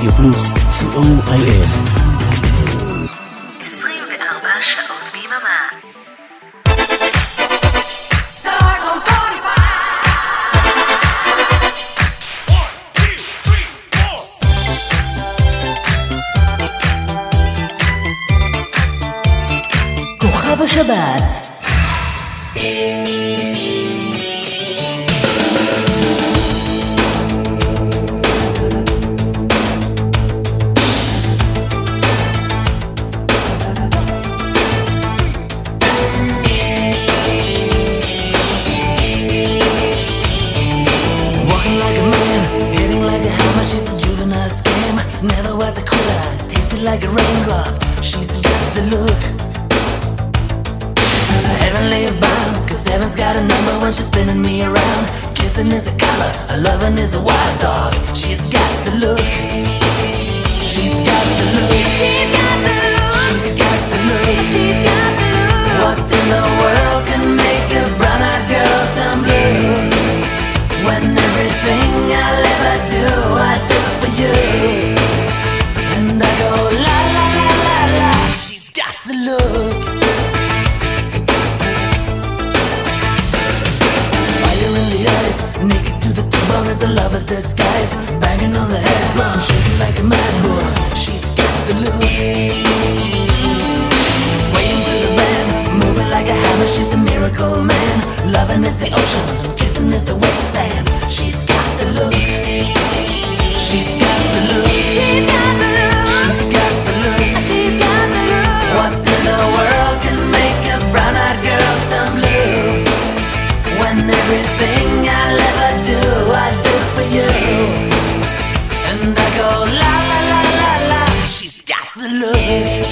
רדיו פלוס, COIF. 24 שעות ביממה. כוכב השבת. Never was a quitter, tasted like a raindrop. She's got the look, heavenly bound. Cause heaven's got a number when she's spinning me around. Kissing is a color, a loving is a wild dog. She's got the look, she's got the look, she's got the look, she's got the look, she's got the look. What in the world can make a brown-eyed girl turn blue? When everything I'll ever do, I do for you. And I go la la la la la. She's got the look. Fire in the eyes, naked to the bone as a lover's disguise. Banging on the head drum, shaking like a mad bull. She's got the look. Swaying to the band, moving like a hammer. She's a miracle man. Loving is the ocean, kissing is the wet sand. She's got the look. She's got the look. She's got the look. She's got the look. She's got the look. What in the world can make a brown-eyed girl turn blue? When everything I'll ever do, I do for you. And I go la la la la la. She's got the look.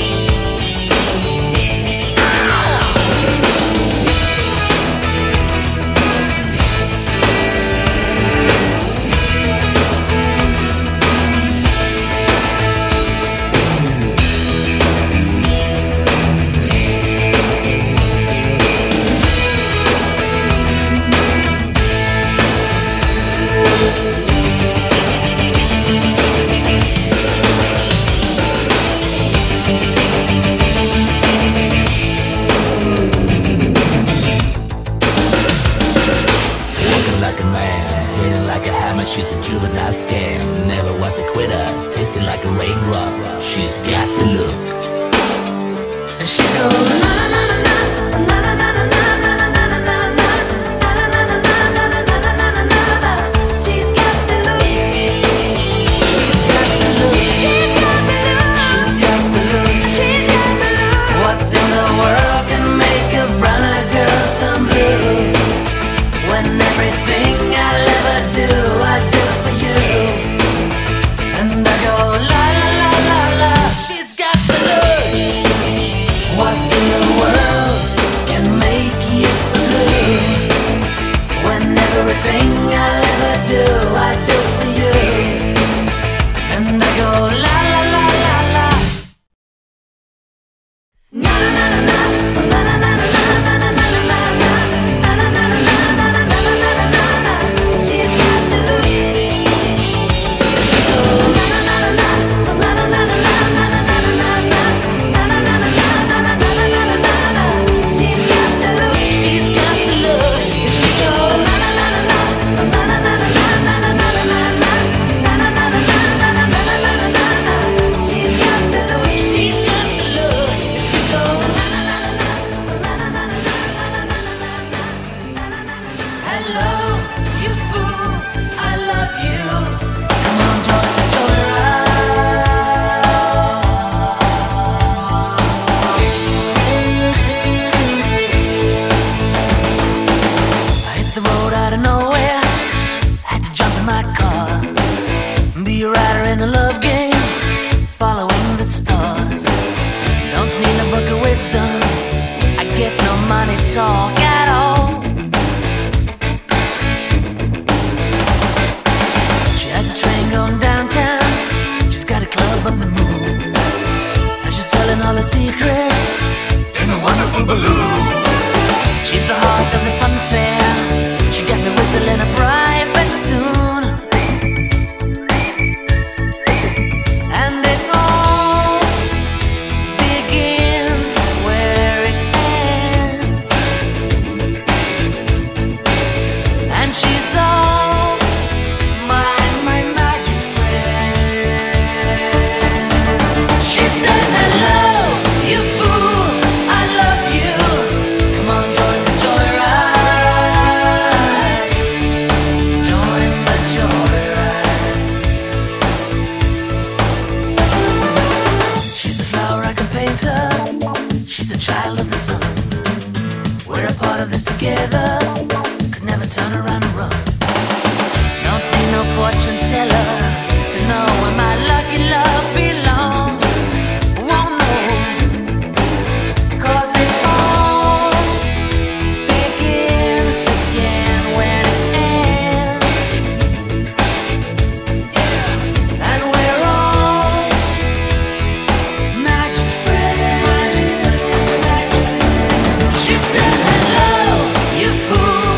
She's a juvenile scam, never was a quitter, tasted like a raindrop. She's got the look. And she goes na na na na na na na na na na na na na na. She's got the look. She's got the look. She's got the look. She's got the look. She's got the look. What in the world can make a brown-eyed girl turn blue? When everything I'll ever do, I do for you. And I go la la la la la. She's got the look. What in the world could never turn around and run. Don't need no fortune teller to know where my lucky love belongs. Won't know, 'cause it all begins again when it ends. Yeah, and we're all magic friends. She says hello, you fool.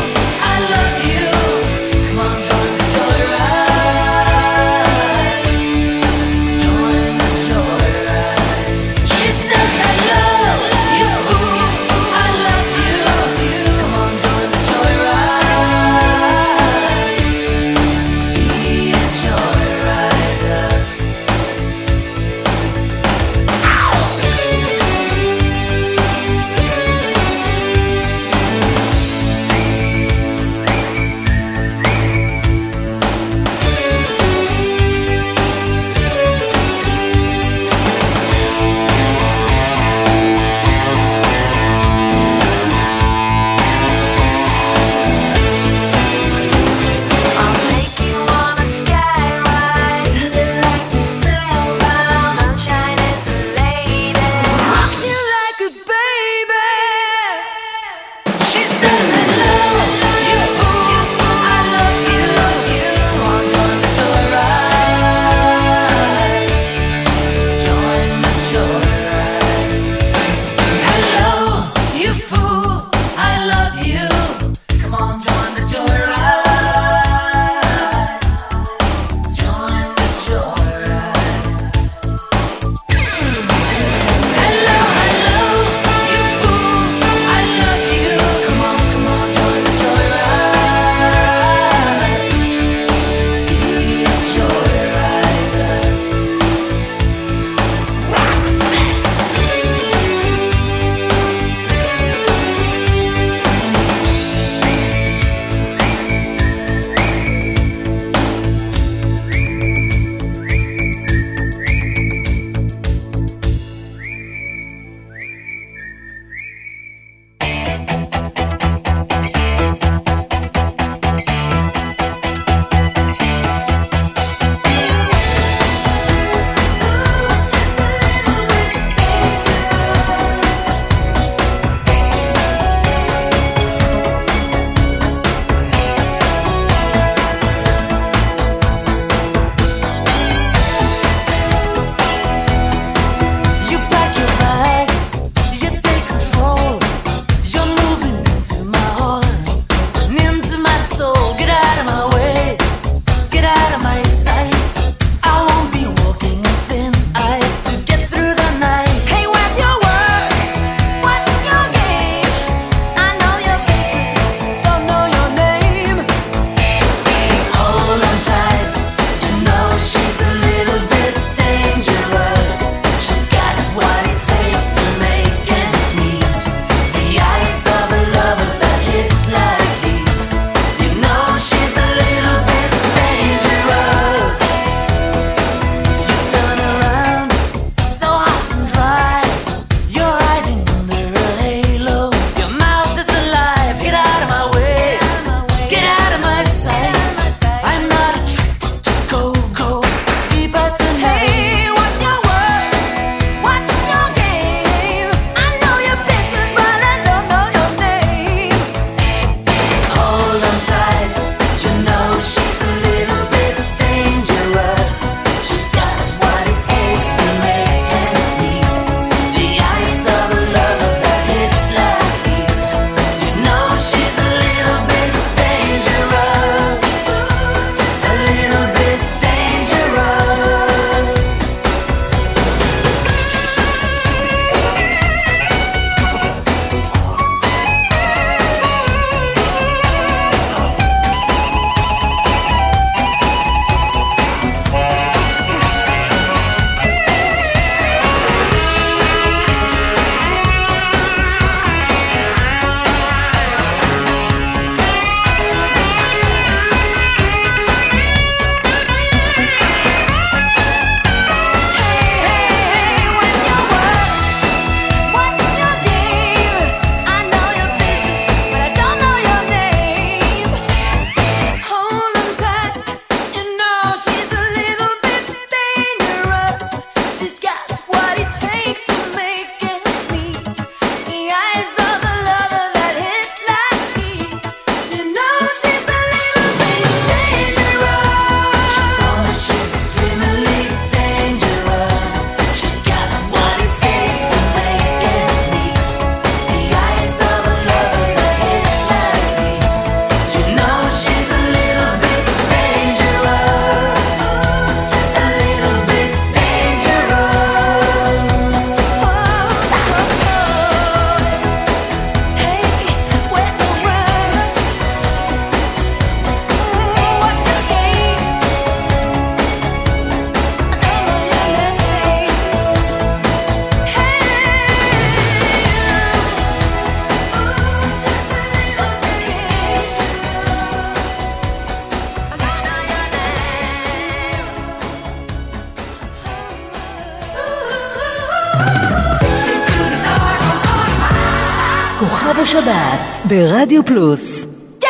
בשבת ברדיו פלוס.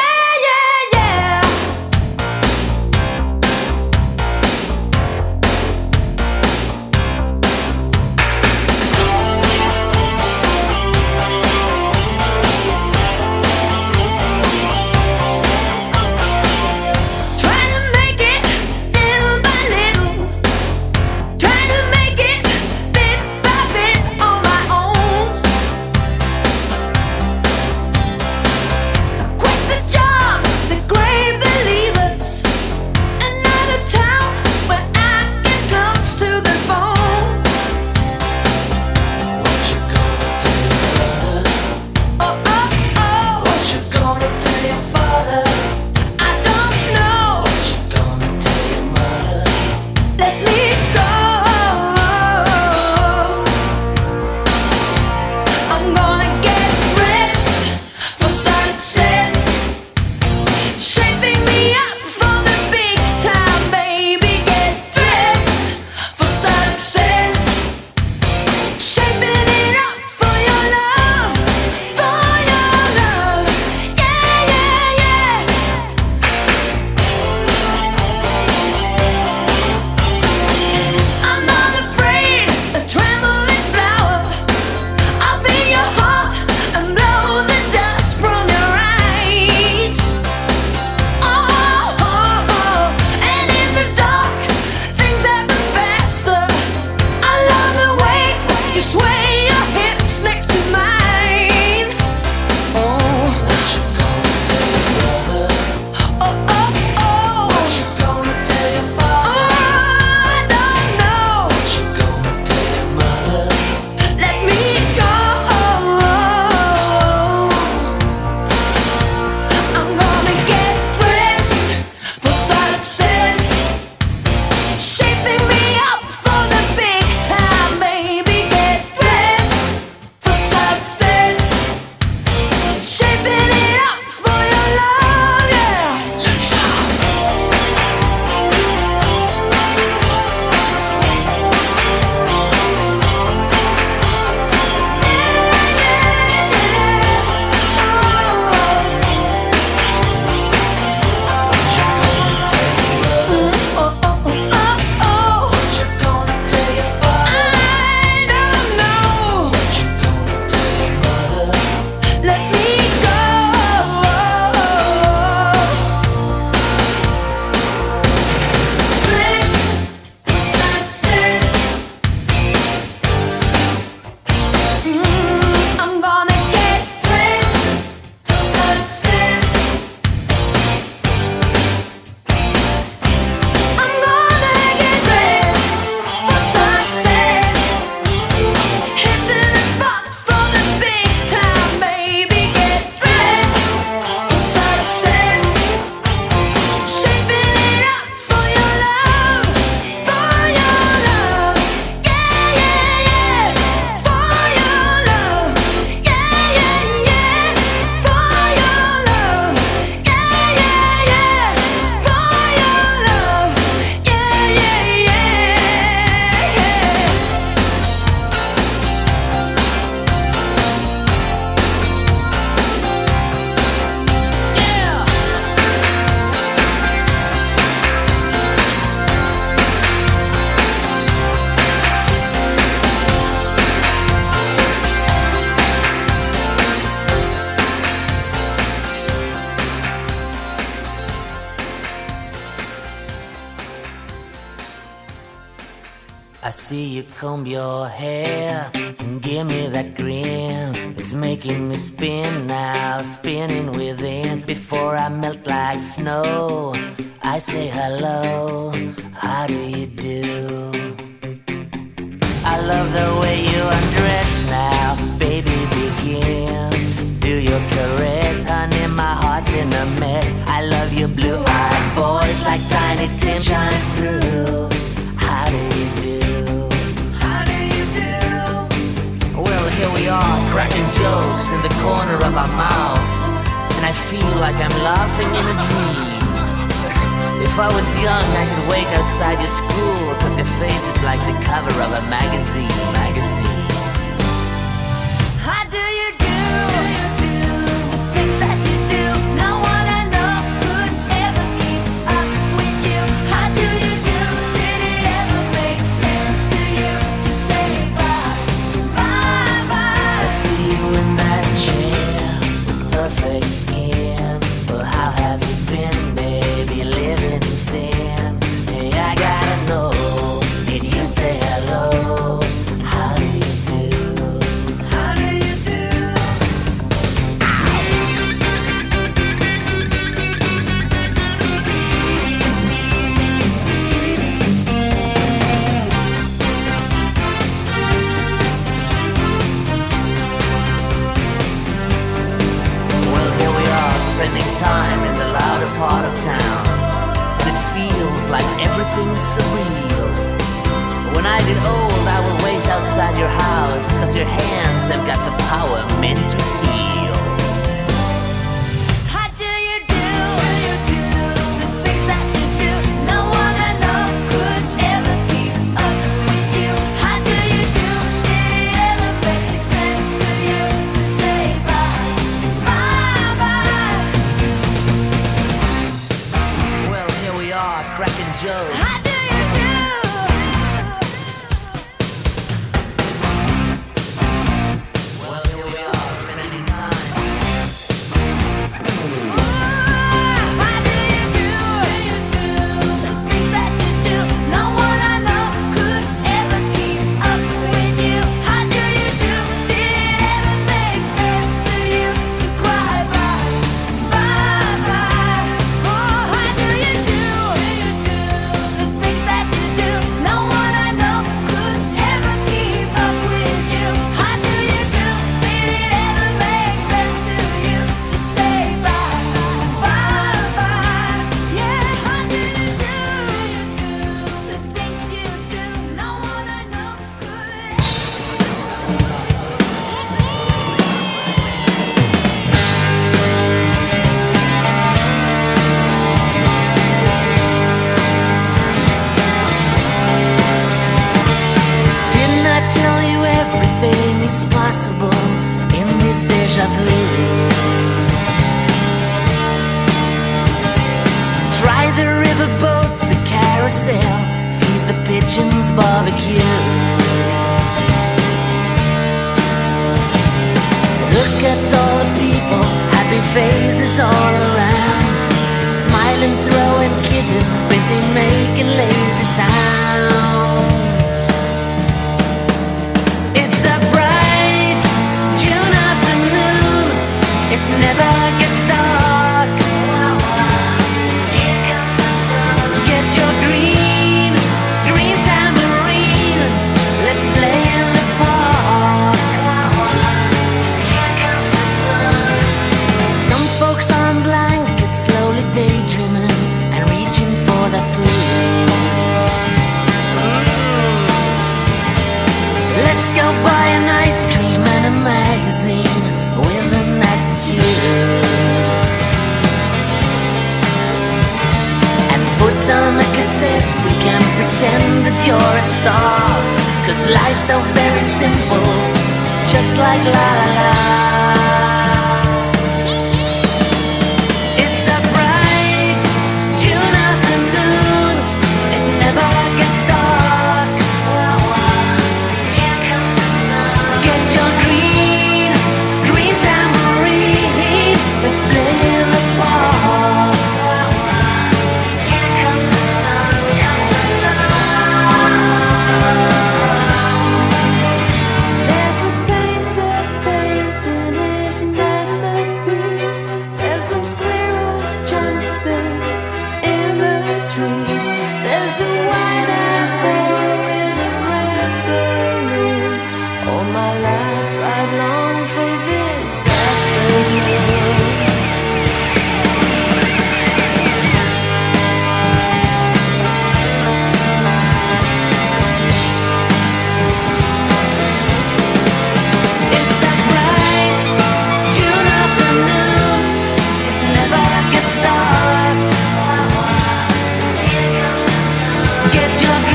I see you comb your hair and give me that grin. It's making me spin now, spinning within. Before I melt like snow, I say hello, how do you do? I love the way you undress now, baby begin. Do your caress, honey, my heart's in a mess. I love your blue-eyed voice like Tiny Tim shines through. How do you do? How do you do? Well, here we are, cracking jokes in the corner of our mouths, and I feel like I'm laughing in a dream. If I was young, I could wait outside your school, 'cause your face is like the cover of a magazine. How do you do? When I get old, I will wait outside your house, 'cause your hands have got the power meant to heal. How do you do the things that you do? No one I know could ever keep up with you. How do you do? Did it ever make sense to you to say bye, bye, bye? Well, here we are, cracking jokes. How do you do? Well, here we are, spending time. How do you do the things that you do? No one I know could ever keep up with you. How do you do? Did it ever make sense to you to cry bye, bye, bye? Oh, how do you do the things that you do? No one I know could ever keep up with you. How do you do? Did it ever make sense to you to say bye, bye, bye? Yeah, how do you do the things you do? No one I know could Didn't I tell you everything is possible in this deja vu? Try the riverboat, the carousel, feed the pigeons barbecue. Look at all the people, happy faces all around, smiling, throwing kisses, busy making lazy sounds. It's a bright June afternoon, it never gets dark. Get your green, green tambourine, let's play in the park. Some folks on blankets slowly daydreaming and reaching for the food. Let's go buy an ice cream and a magazine with an attitude, and put on the cassette, we can pretend that you're a star, 'cause life's so very simple, just like la la la. It's a bright June afternoon, it never gets dark. Get your green, green tambourine, let's play in the park. There's a painter painting his masterpiece. There's some squirrels jumping in the trees. There's a white-eyed boy with a red balloon. All my life I've longed for this afternoon. It's a bright June afternoon, it never gets dark. Get your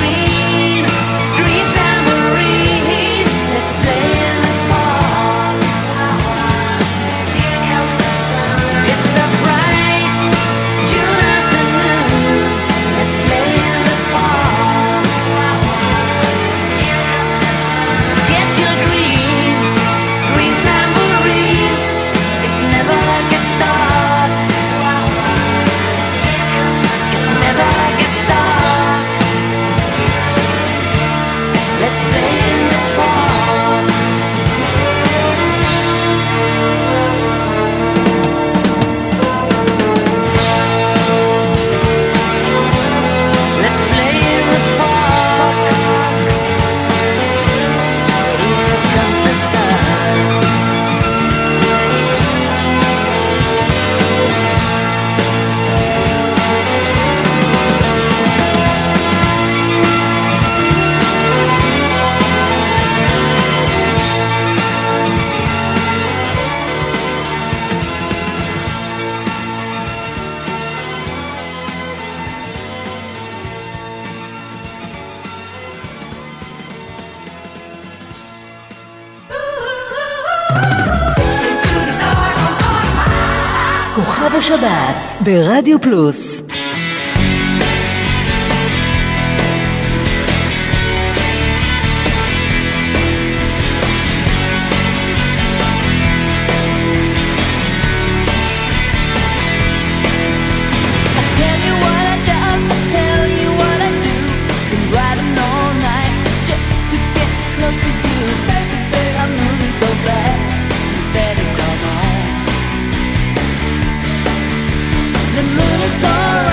כוכב השבת ברדיו פלוס. The moon is all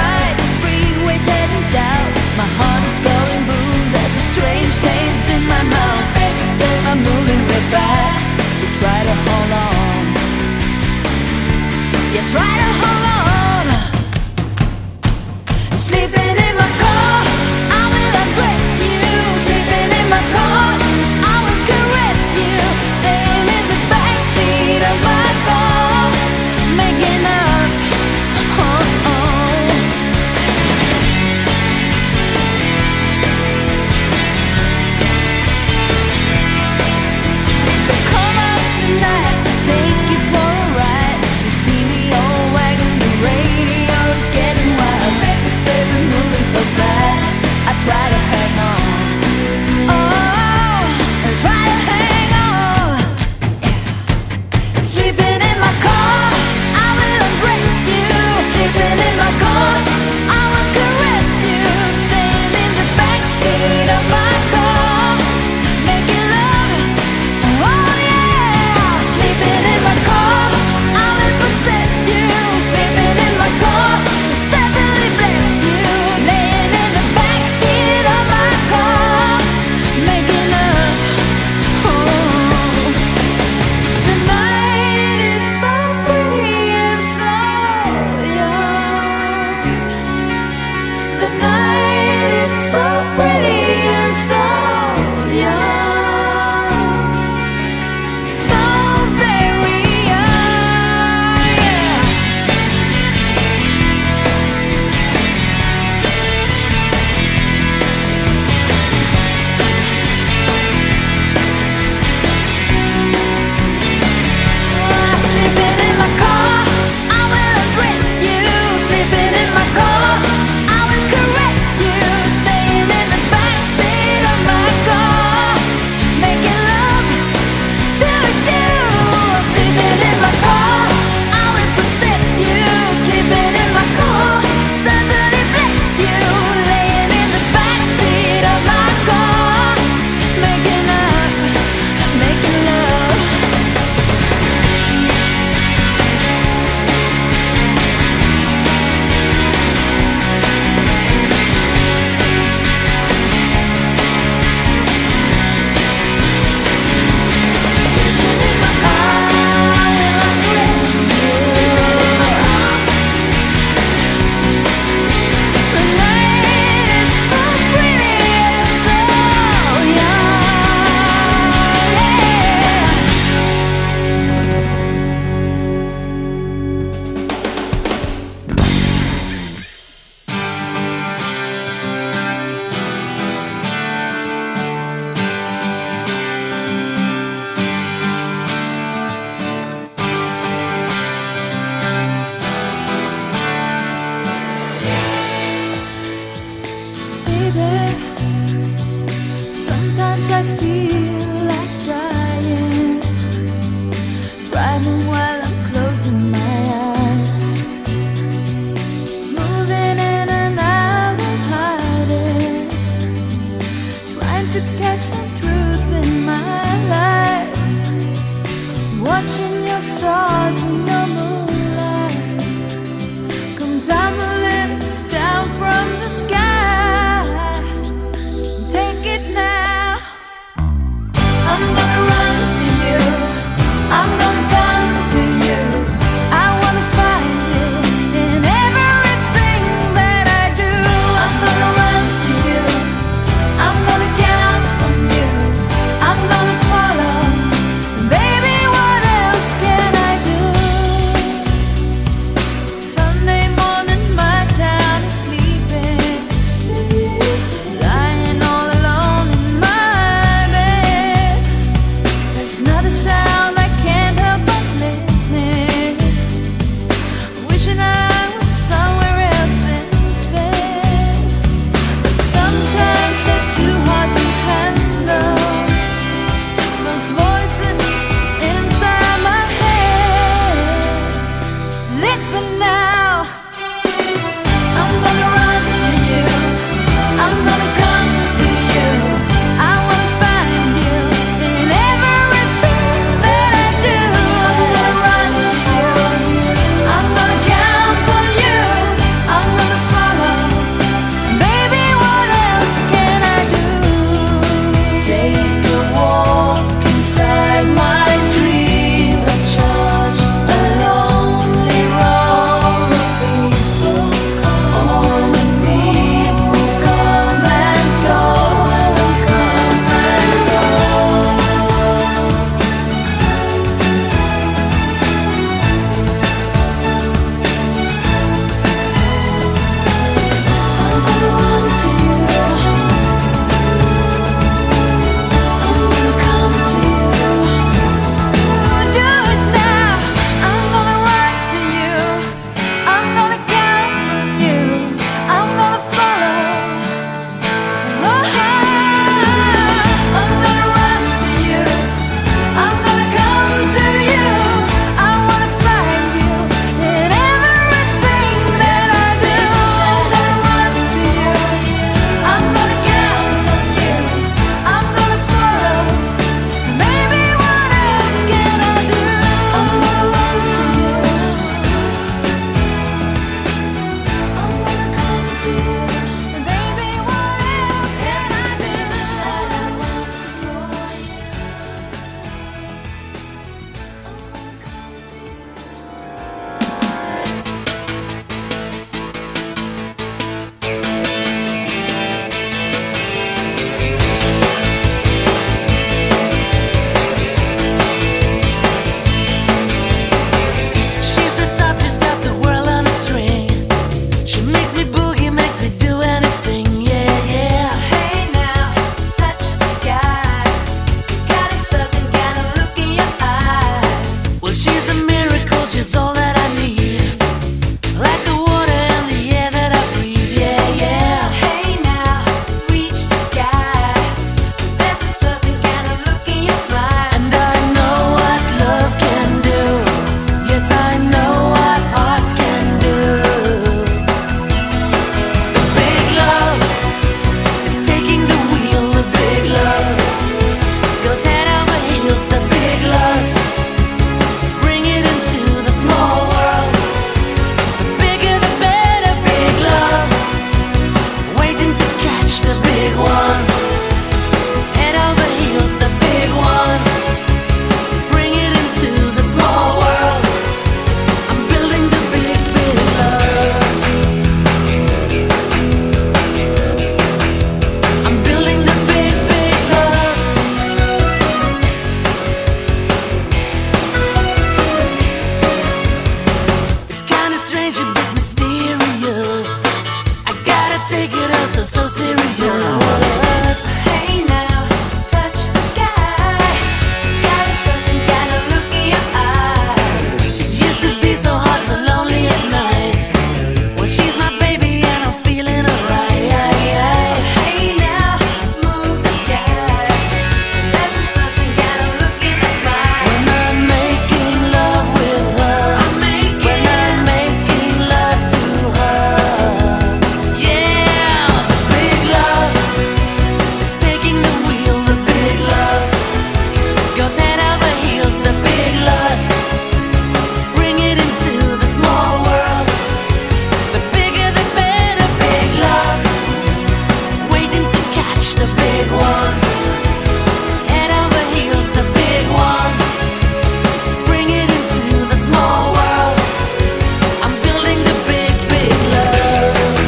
so serious. Hey now, touch the sky. Got a certain kind of look in your eye. It used to be so hard, so lonely at night. Well, she's my baby and I'm feeling alright. Hey now, move the sky. There's a certain kind of look in her smile. When I'm making love with her, when I'm making love to her, yeah, the big love is taking the wheel. The big love goes head over heels. The big lust, bring it into the small world. The bigger the better. Big love, waiting to catch the big one. Head over heels, the big one. Bring it into the small world. I'm building the big, big love.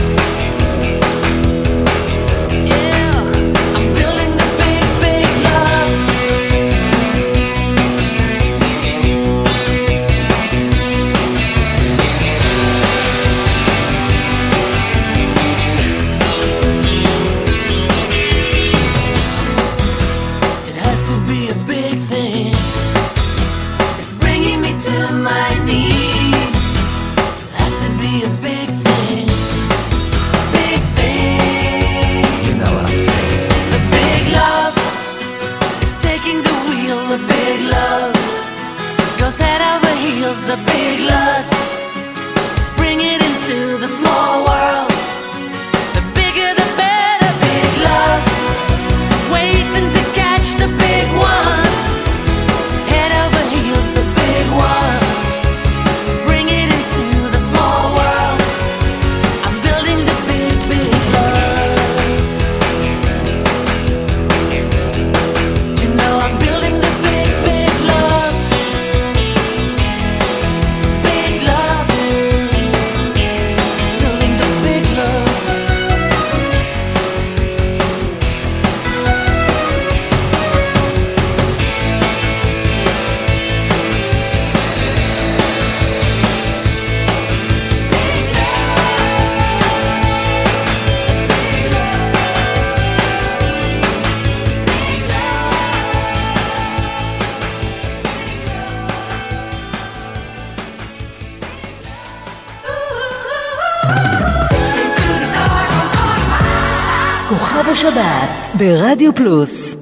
Yeah, I'm building the big, big love. It has to be a big thing. It's bringing me to my knees. It has to be a big thing. Big thing. You know what I'm saying. The big love is taking the wheel. The big love goes head over heels. The big lust, bring it into the small world. The bigger the better. Big love, waiting to catch the big one. Head over heels, the big one. Bring it into the small world. I'm building the big, big love. You know I'm building the big, big love. Big love. Building the big love. כוכב השבת ברדיו פלוס.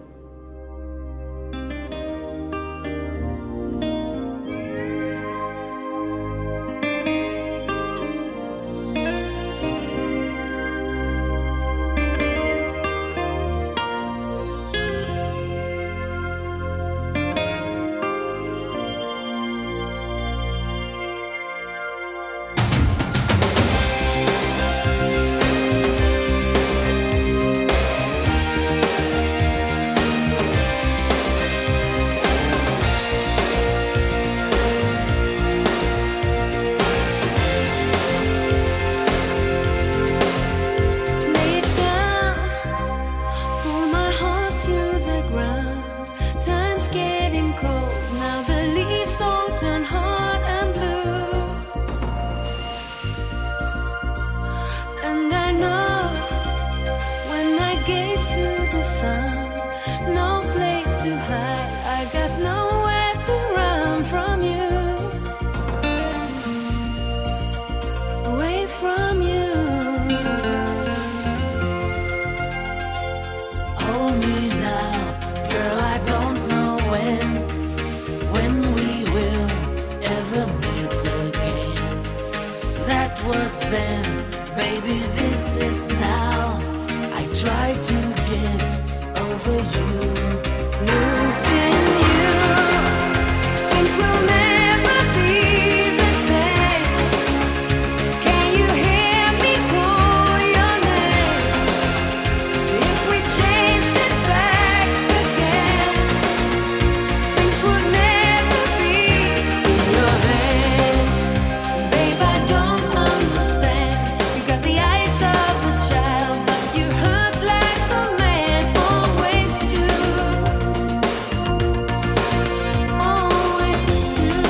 Lay it down, pull my heart to the ground. Time's getting cold, now the leaves all turn hard and blue. And I know when I gaze to the sun, no place to hide. I got nowhere to run from you, away from you. Hold me now, girl, I don't know when we will ever meet again. That was then, baby, this is now. I try to get over you. Losing you, things will never be the same. Can you hear me call your name? If we changed it back again, things would never be in your head. Babe, I don't understand. You got the eyes of a child, but you hurt like a man always do. Always do.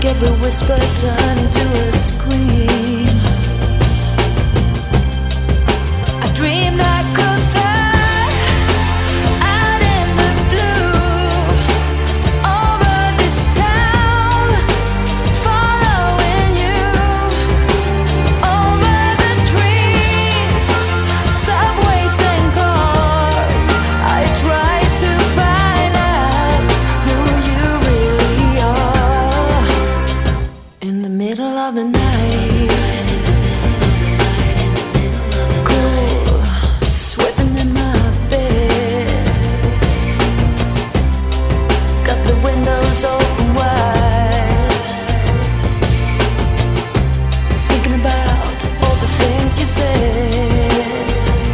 make every whisper turn into a scream. I dreamed I could fly out in the blue over this town, following you over the trees, subways and cars. I tried to find out who you really are. In the middle of the night, cool, sweating in my bed, got the windows open wide, thinking about all the things you said.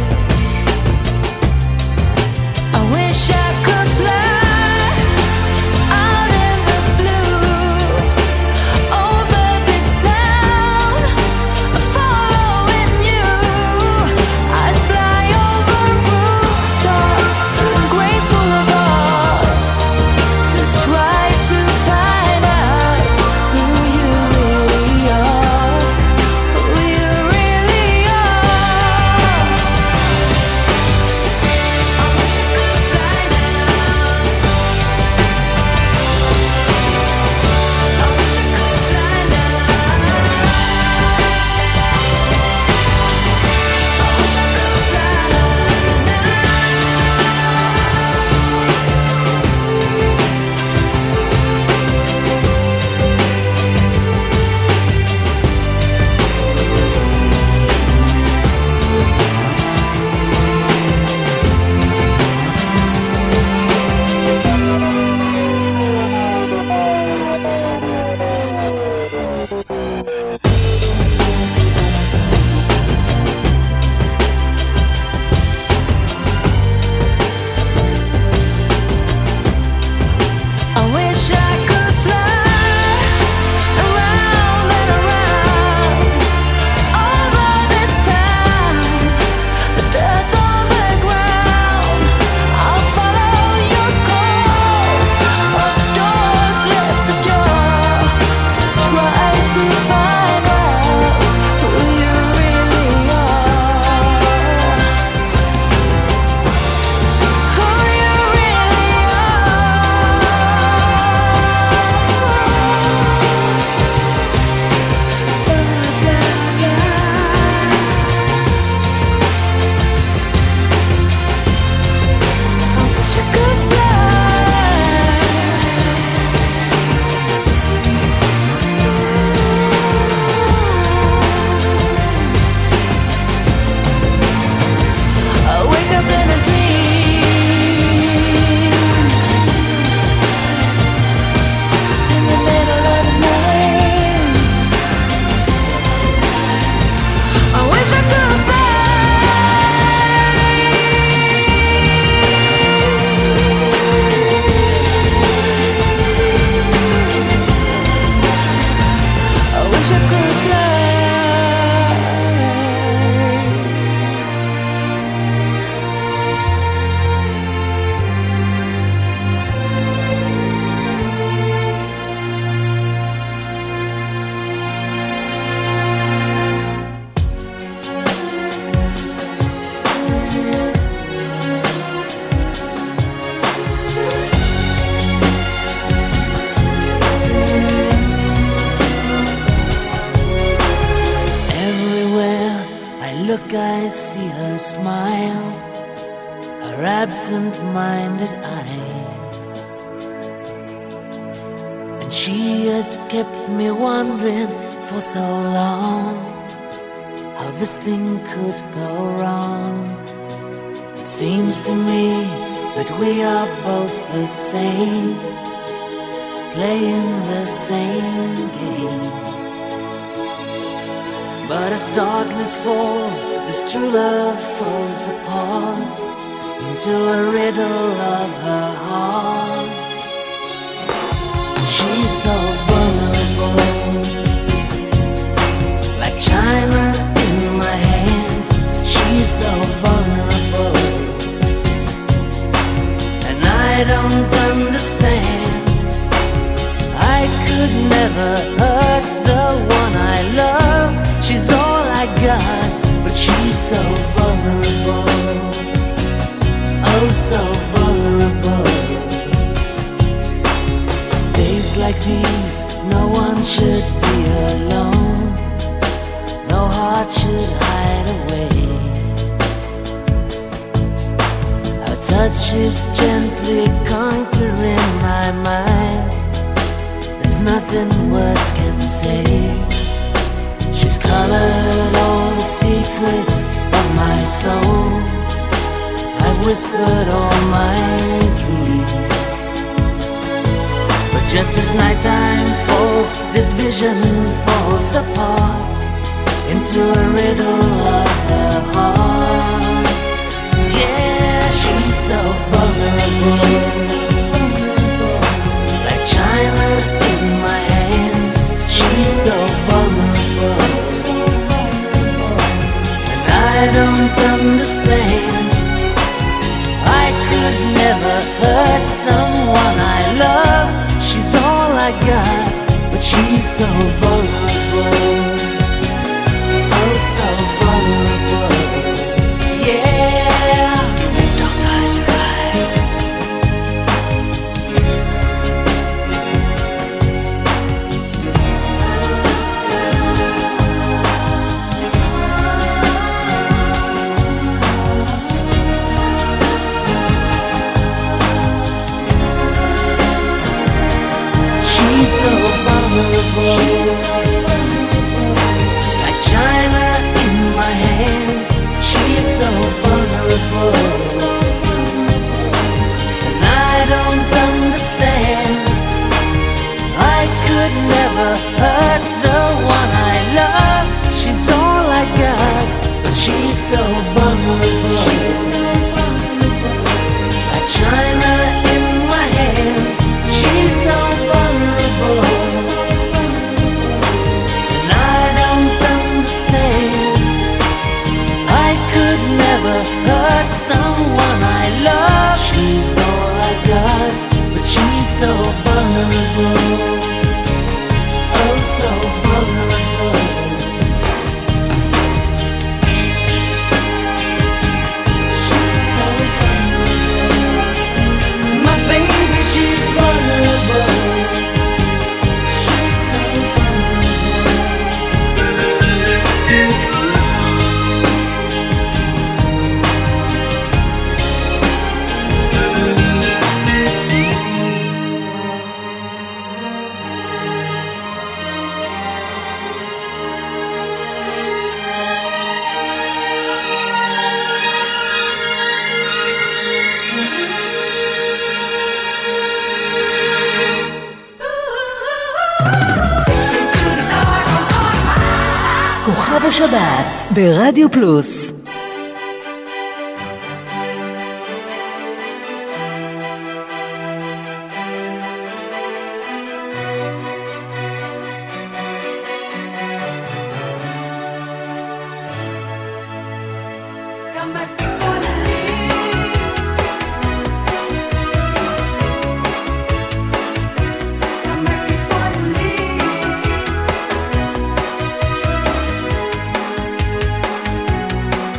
I wish I could fly out in the blue over this town, following you. I'd fly over rooftops and great boulevards to try to find out who you really are, who you really are. I wish I could fly now. I wish I could fly now. I wish I could fly now. I wish I could fly around and around over this town, the dirt on the ground. I'll follow your course of doors left ajar to try to find out who you really are, who you really I wish I could fly. I wake up in a dream in the middle of the night. I wish I could fly. I wish I could fly. Everywhere I look, I see her smile, her absent-minded eyes, and she has kept me wondering for so long how this thing could go wrong. It seems to me that we are both the same, playing the same game. But as darkness falls, this true love falls apart into a riddle of her heart. She's so vulnerable, like china in my hands. She's so vulnerable, and I don't understand. I could never never hurt the one I love. She's all I got, but she's so vulnerable. Oh, so vulnerable. Days like these, no one should be alone. No heart should hide away. Her touch is gently conquering my mind. There's nothing words can say. She's colored all the secrets of my soul. I've whispered all my dreams. But just as nighttime falls, this vision falls apart into a riddle of the heart. Yeah, she's so vulnerable, like china in my hands. She's so vulnerable, and I don't understand. I could never hurt someone I love. She's all I got, but she's so vulnerable. Oh, so vulnerable. Yeah. Don't hide your eyes. She's so vulnerable, like china in my hands. She's so vulnerable, and I don't understand. I could never hurt the one I love. She's all I got, but she's so vulnerable, like china in my hands. She's so vulnerable, and I don't understand. I could never hurt someone I love. She's all I got, but she's so vulnerable. Oh, so vulnerable. She's so vulnerable. My baby, she's vulnerable. She's so כוכב השבת ברדיו פלוס. Come back before you leave. Come back before you leave.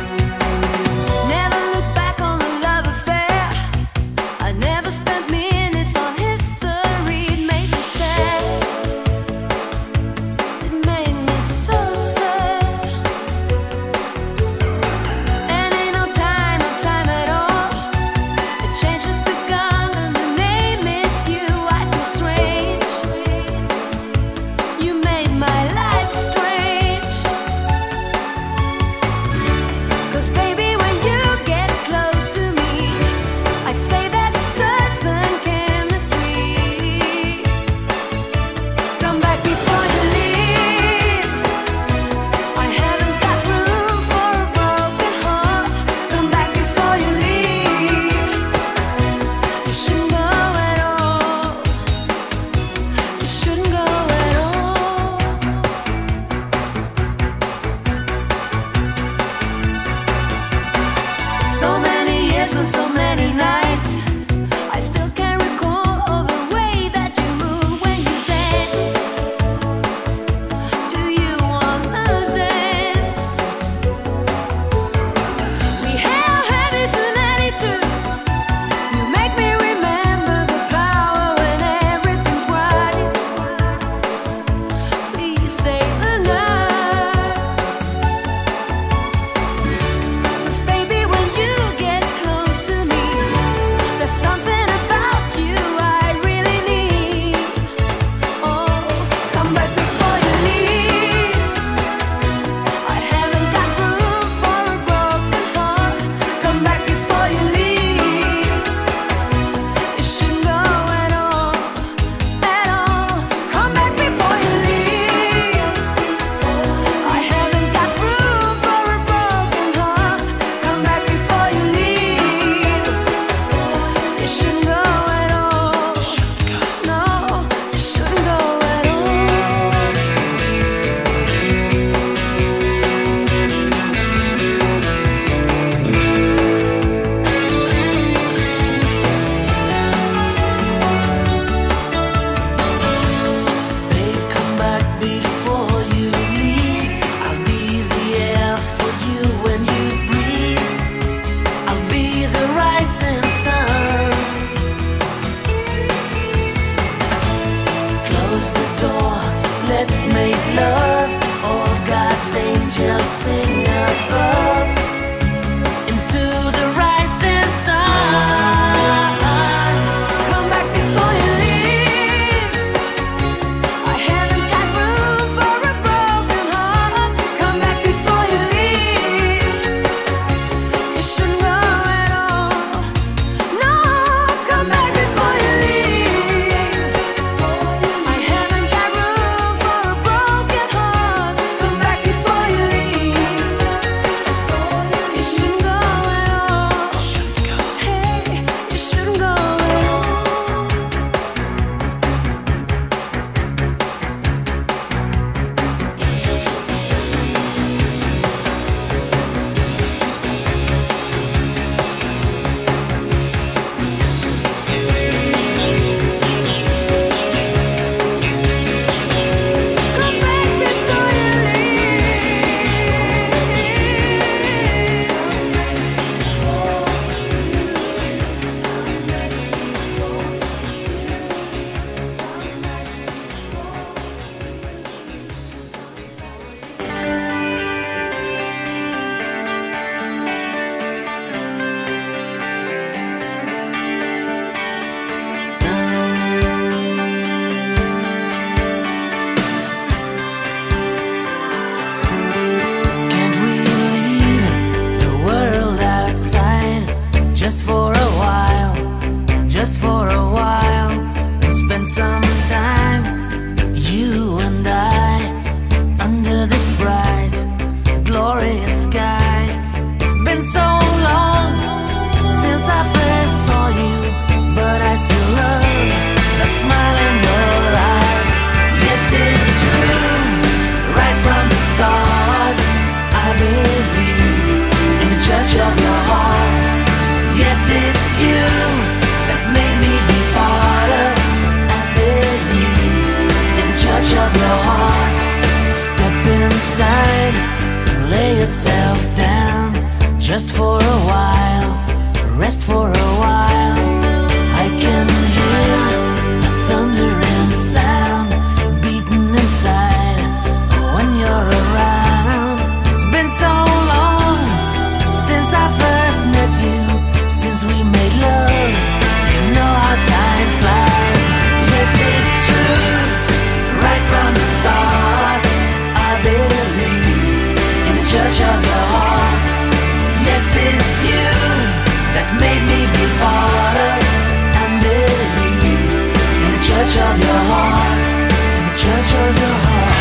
yourself down just for a while, rest for a while. I can hear a thundering sound beating inside when you're around. It's been so long since I first met you, since we made love. You know how time flies. Yes, it's true. Right from the start, I believe in the church of your heart. Yes, it's you that made me be part of and believe in the church of your heart, in the church of your heart.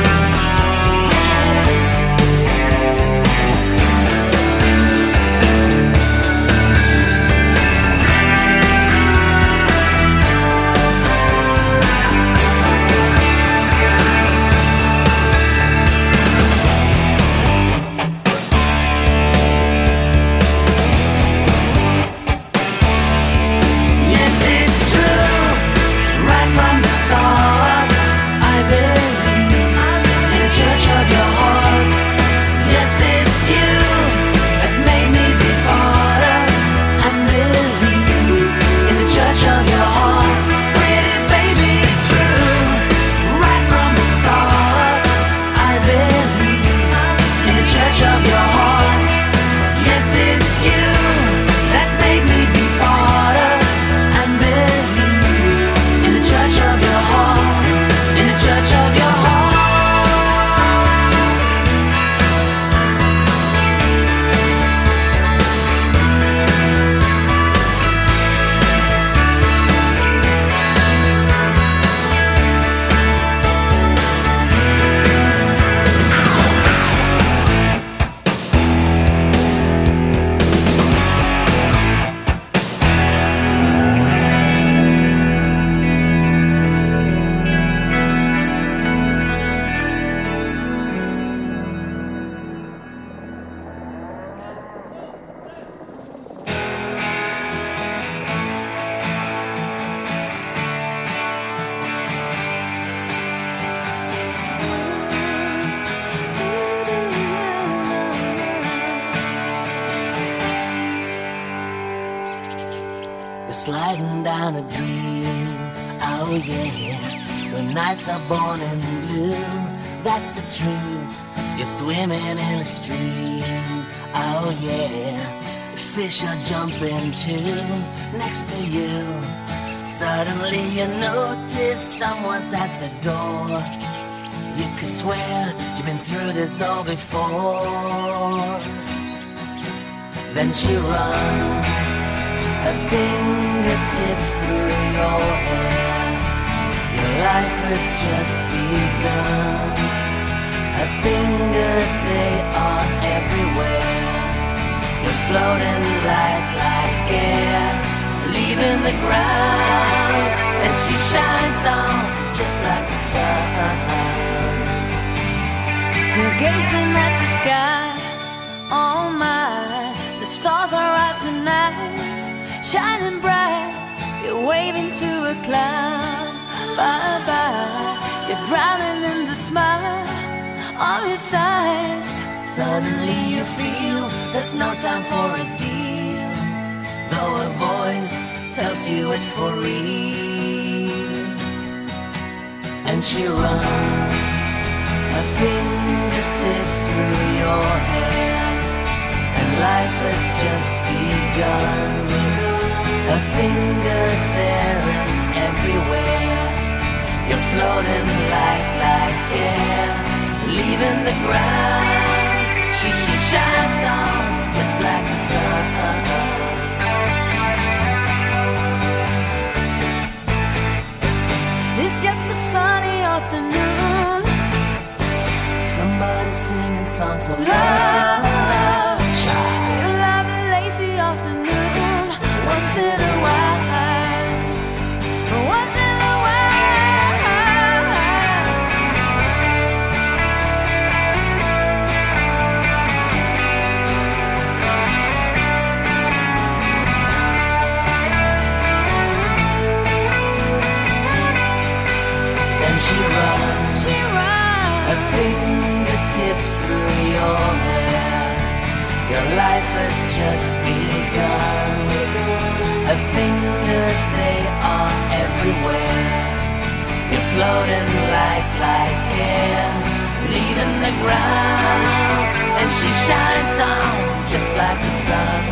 Sliding down a dream, oh yeah. When nights are born in blue, that's the truth. You're swimming in a stream, oh yeah. Fish are jumping too, next to you. Suddenly you notice someone's at the door. You could swear you've been through this all before. Then she runs her fingertips through your hair. Your life has just begun. Her fingers, they are everywhere. You're floating like air, leaving the ground. And she shines on just like the sun. You're gazing at the sky, oh my. The stars are out tonight, shining bright. You're waving to a cloud, bye-bye. You're drowning in the smile of his eyes. Suddenly you feel there's no time for a deal, though a voice tells you it's for real. And she runs her fingertips through your hair, and life has just begun. Her fingers there and everywhere. You're floating like air, leaving the ground. She shines on just like the sun. It's just a sunny afternoon. Somebody singing songs of Love, love. a lovely lazy afternoon. Once in a while, once in a while. Then she runs her fingertips through your hair, life has just begun. Her fingers, they are everywhere. You're floating like air, leaving the ground, and she shines on just like the sun.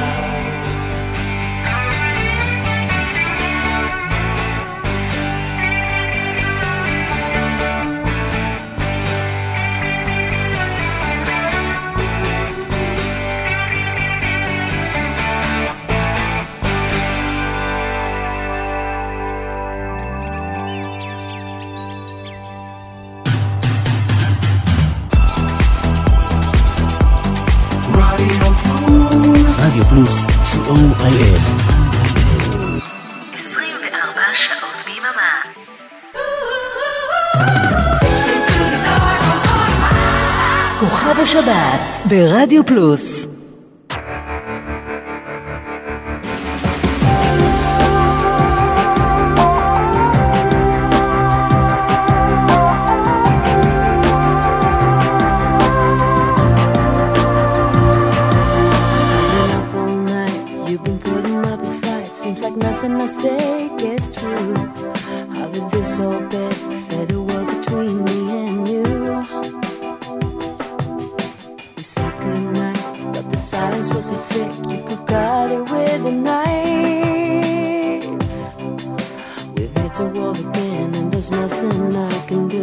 רדיו פלוס, COIF. 24 שעות ביממה. כוכב השבת ברדיו פלוס. Nothing I say gets through. How did this all bed fade away between me and you? We said goodnight, but the silence was so thick you could cut it with a knife. We've hit a wall again and there's nothing I can do.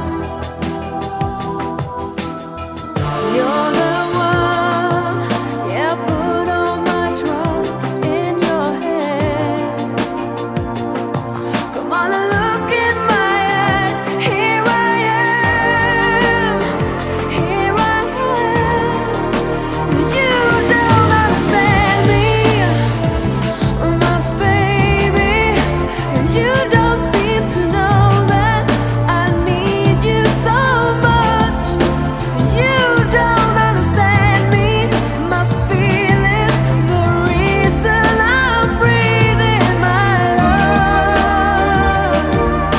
You're the one, yeah, put all my trust in your hands. Come on and look in my eyes. Here I am, here I am. You don't understand me, my baby. You don't seem to know that I need you so much. You don't understand me, my feelings, the reason I'm breathing my love.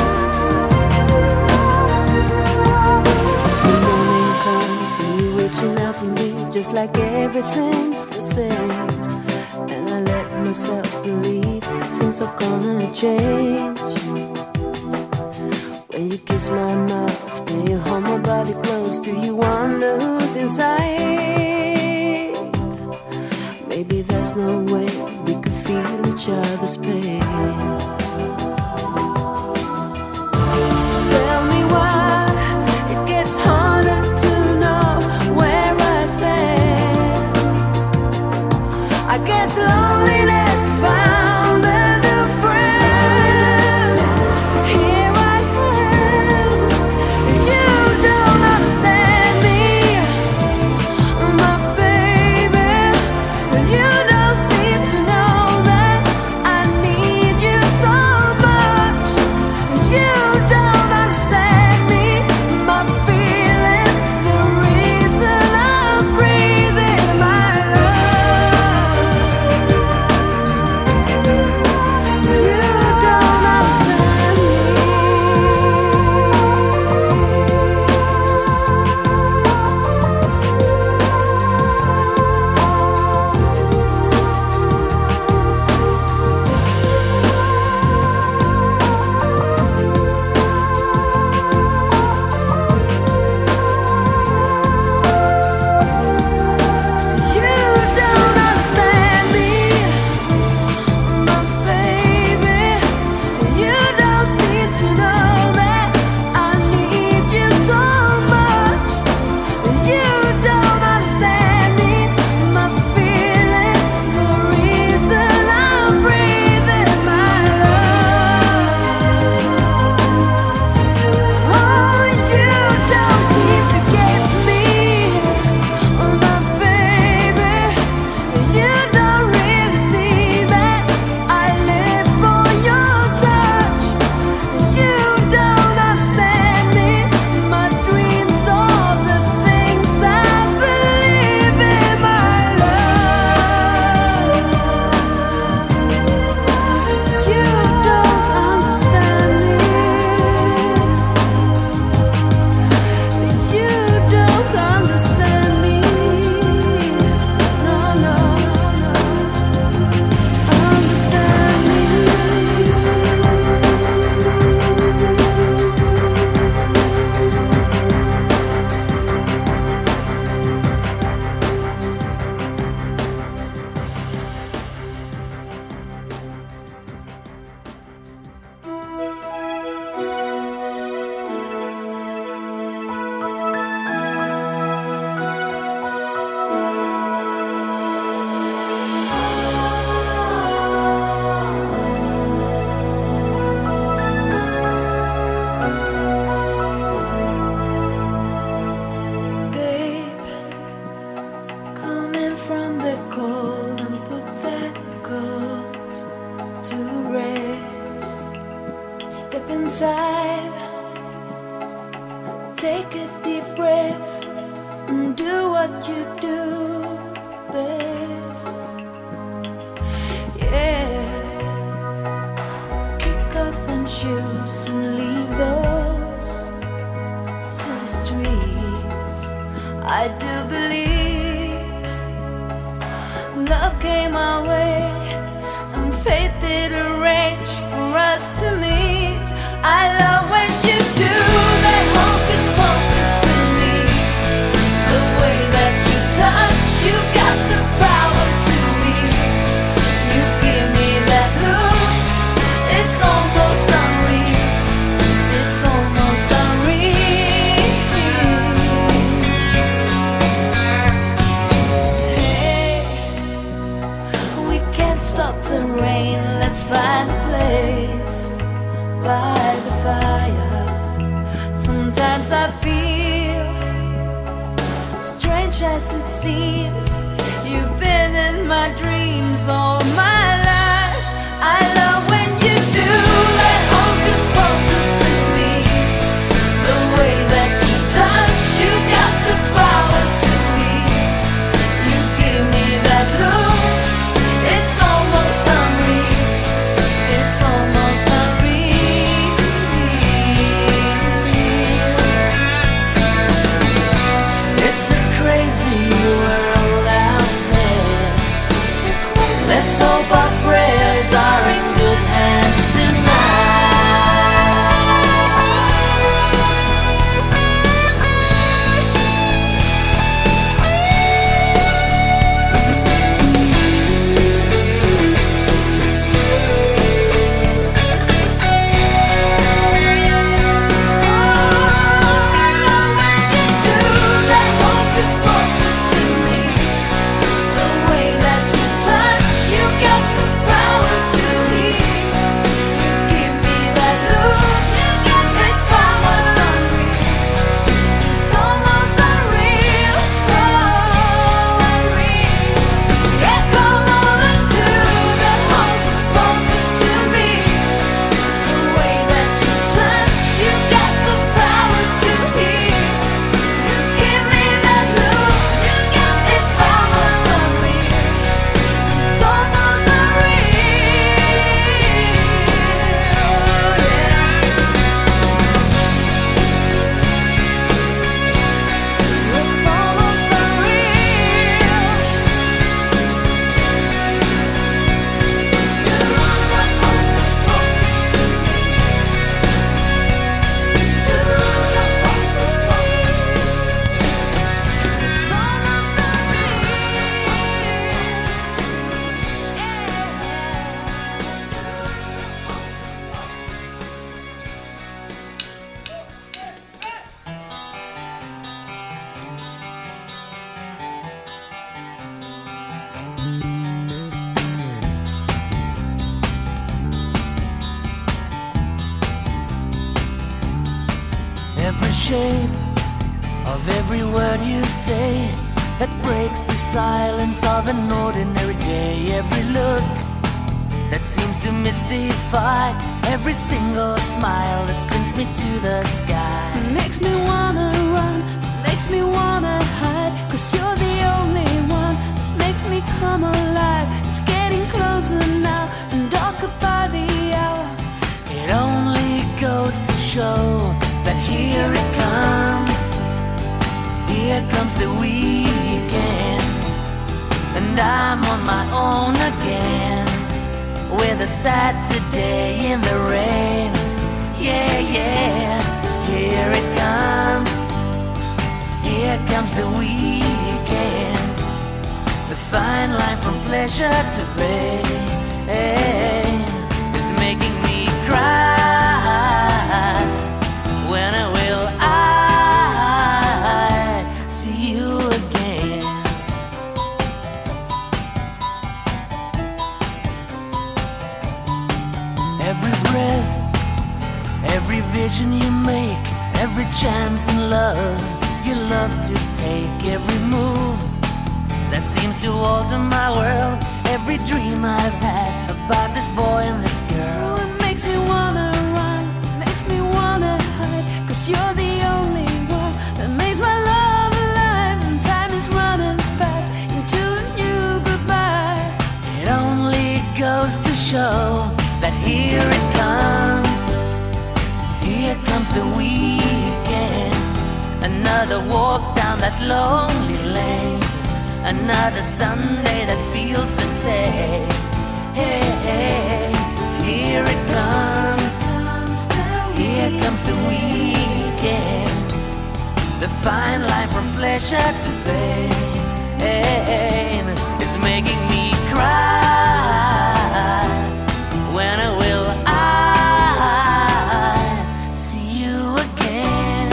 The morning comes and you reaching out for me, just like everything's the same. And I let myself believe things are gonna change. When you kiss my mouth and you hold my body close, do you wonder who's inside? Maybe there's no way we could feel each other's pain. Tell me why it gets harder to know where I stand. I guess loneliness found a new friend. Here I am. You don't understand me, my baby. You don't seem to know that I need you so take a deep breath and do what you do best. Yeah, kick off them shoes and leave those city streets. I do believe love came our way and fate did arrange for us to meet. I love when you do that hocus pocus to me. The way that you touch, you got the power to me. You give me that look, it's almost unreal. It's almost unreal. Hey, we can't stop the rain, let's find a place by the fire. Sometimes I feel, strange as it seems, you've been in my dreams all my life. I love when you do that hocus pocus to me. The way that you touch, you got the power to me. You give me that look, it's almost unreal. It's almost unreal. It's a crazy world out there. Let's hope our prayers are in good hands Every shape of every word you say that breaks the silence of an ordinary day. Every look that seems to mystify, every single smile that spins me to the sky. Makes me wanna run, makes me wanna hide, 'cause you're the only one that makes me come alive. It's getting closer now and darker by the hour. It only goes to show that here it comes the weekend, and I'm on my own again, with a Saturday in the rain. Yeah, yeah, here it comes the weekend, the fine line from pleasure to pain is making me cry. When will I see you again? Every breath, every vision you make, every chance in love you love to take, every move that seems to alter my world, every dream I've had about this boy and this girl. It makes me wanna run, makes me wanna hide, 'cause you're the only one Another walk down that lonely lane. Another Sunday that feels the same. Hey, hey, here it comes. Here comes the weekend. The fine line from pleasure to pain is making me cry. When will I see you again?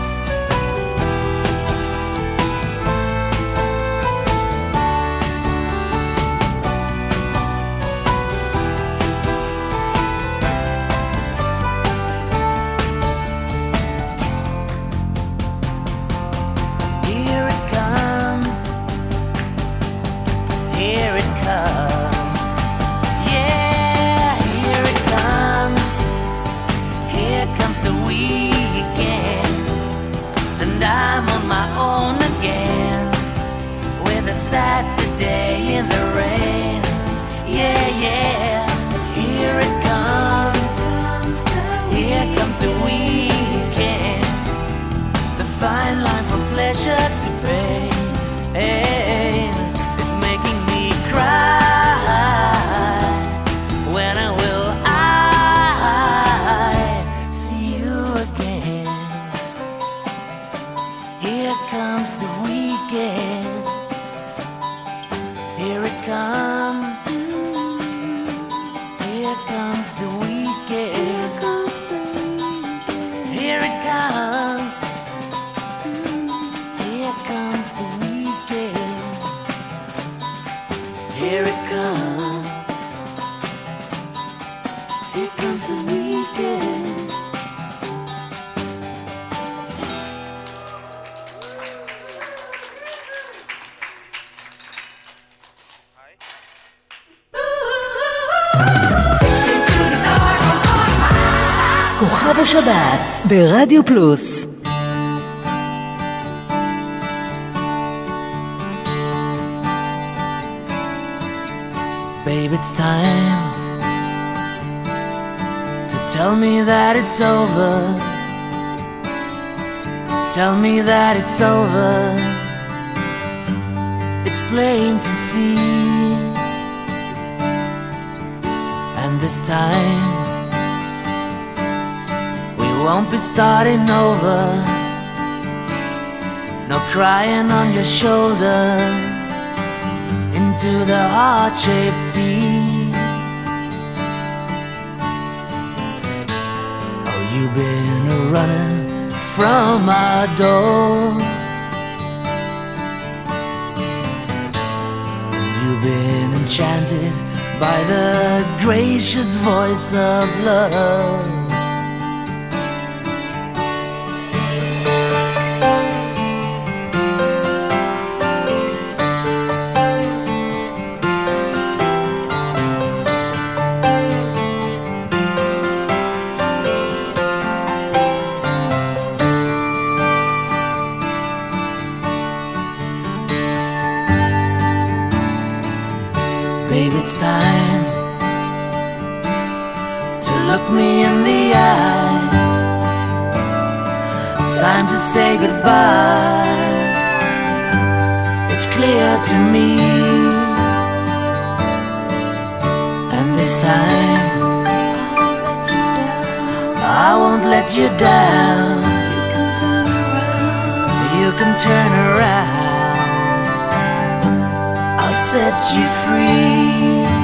Here it comes. Here it comes. Yeah, here it comes. Here comes the weekend. And I'm on my own again. With a Saturday in the rain. Yeah, yeah. Here it comes. Here comes the weekend. The fine line from pleasure to pain. It's making me cry. When will I see you again? Here comes the weekend. Here it comes. Here comes the weekend. Here it comes. Here comes the weekend. Here it comes. Here comes the weekend. כוכב השבת ברדיו פלוס. Babe, it's time to tell me that it's over. Tell me that it's over. It's plain to see. And this time we won't be starting over. No crying on your shoulder into the heart-shaped sea. Oh, you've been running from our door. You've been enchanted by the gracious voice of love. Babe, it's time to look me in the eyes. Time to say goodbye. It's clear to me. And this time I won't let you down. You can turn around. I'll set you free.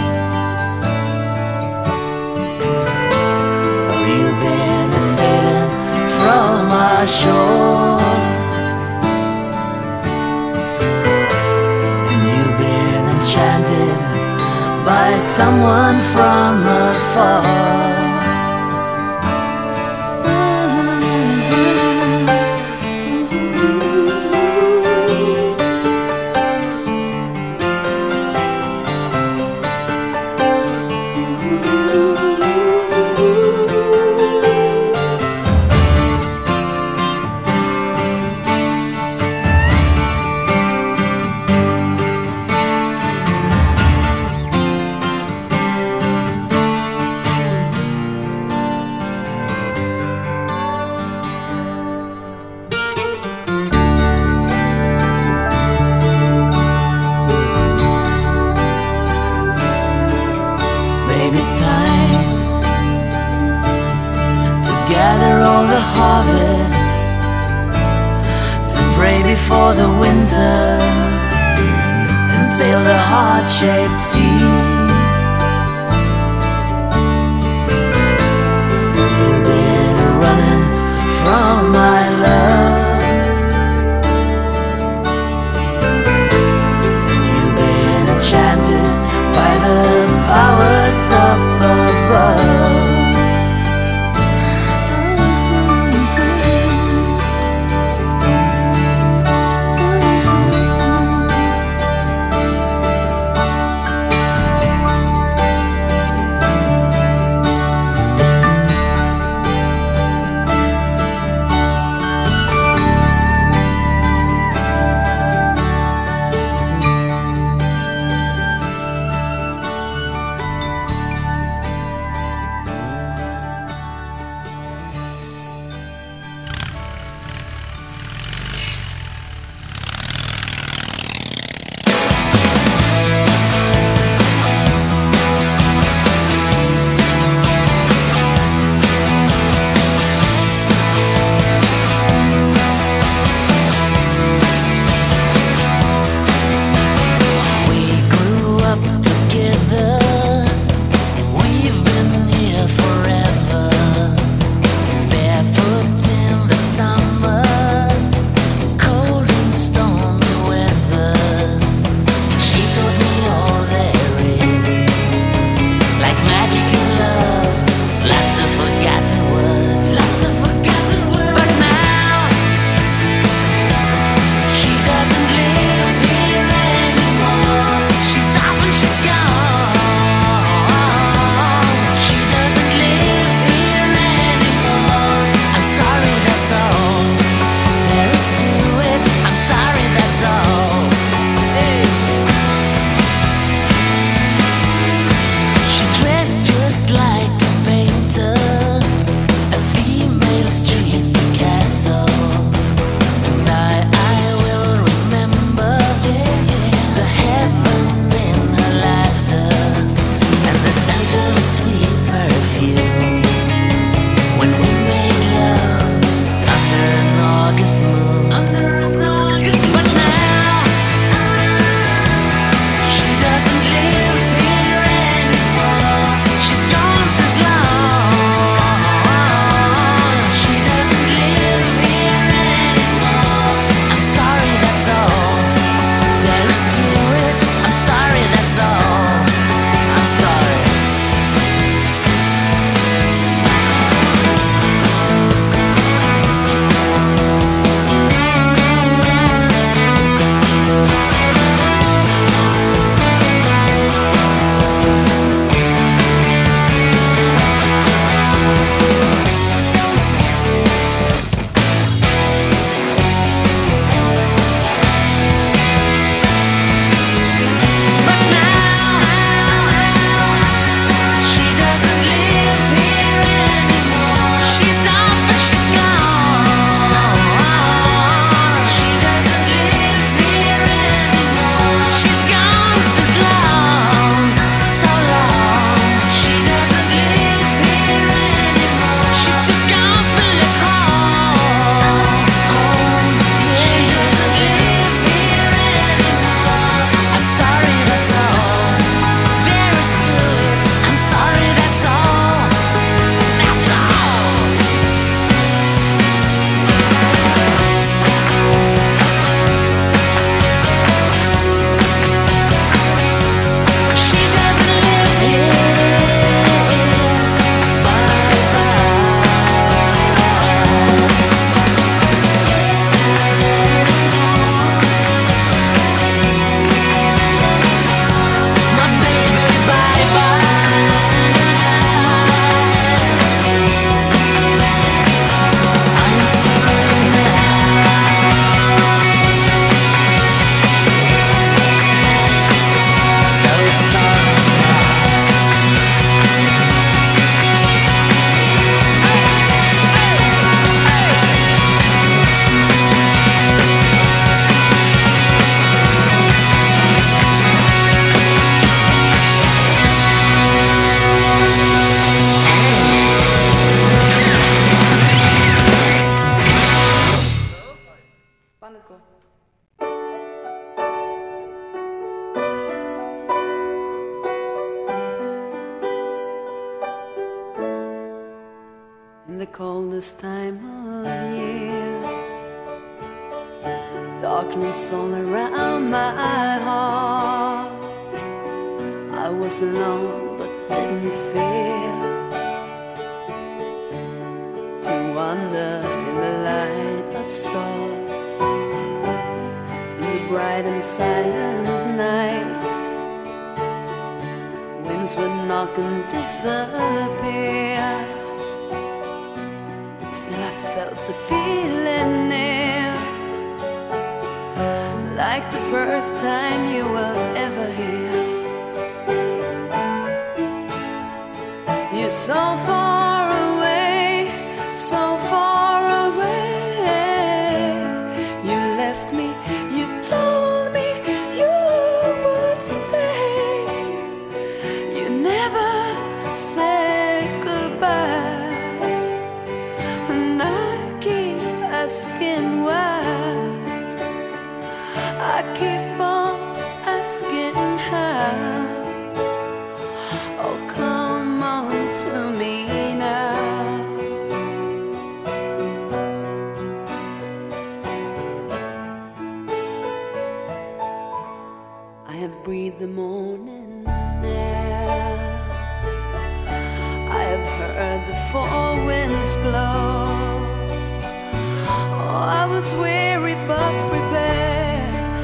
Oh, you've been a sailing from our shore, and you've been enchanted by someone from afar. gather all the harvest, to pray before the winter, and sail the heart-shaped sea. You've been running from my love, you've been enchanted by the powers up above. fun, let's go. In the coldest time of year, darkness all around my heart. I was alone but didn't fear to wander in the light of stars, in the bright and silent night. Winds would knock and disappear. Still I felt the feeling near, like the first time you were ever here. You're so far away, so far away. You left me, you told me you would stay. You never said goodbye, and I keep asking why. I keep on asking how. Oh, come on to me now. I have breathed the morning air. I have heard the four winds blow. Oh, I was weary but prepared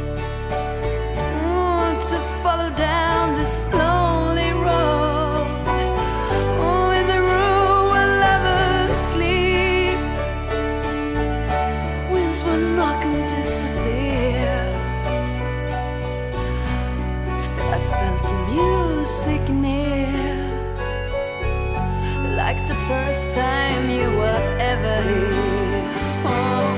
to follow down this lonely road. Oh, in the room where lovers sleep, winds will knock and disappear. Still I felt the music near, like the first time you were ever here. Oh,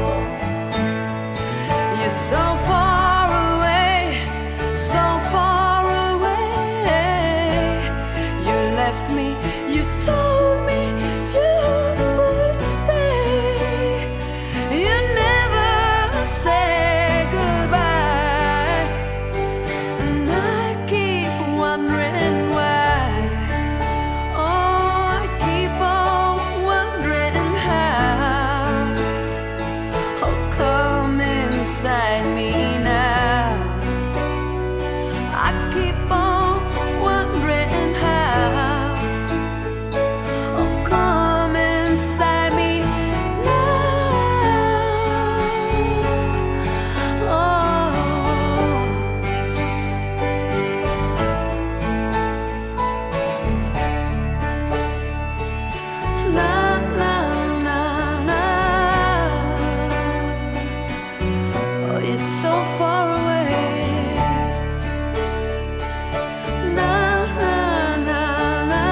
you're so far away, so far away. You left me, you told me you would stay. You never said goodbye, and I keep wondering why. Oh, I keep on wondering how. Oh, come inside me now. I keep on wondering how. Oh, come inside me now. Oh, na na na na. Oh, you're so far away. Na na na na.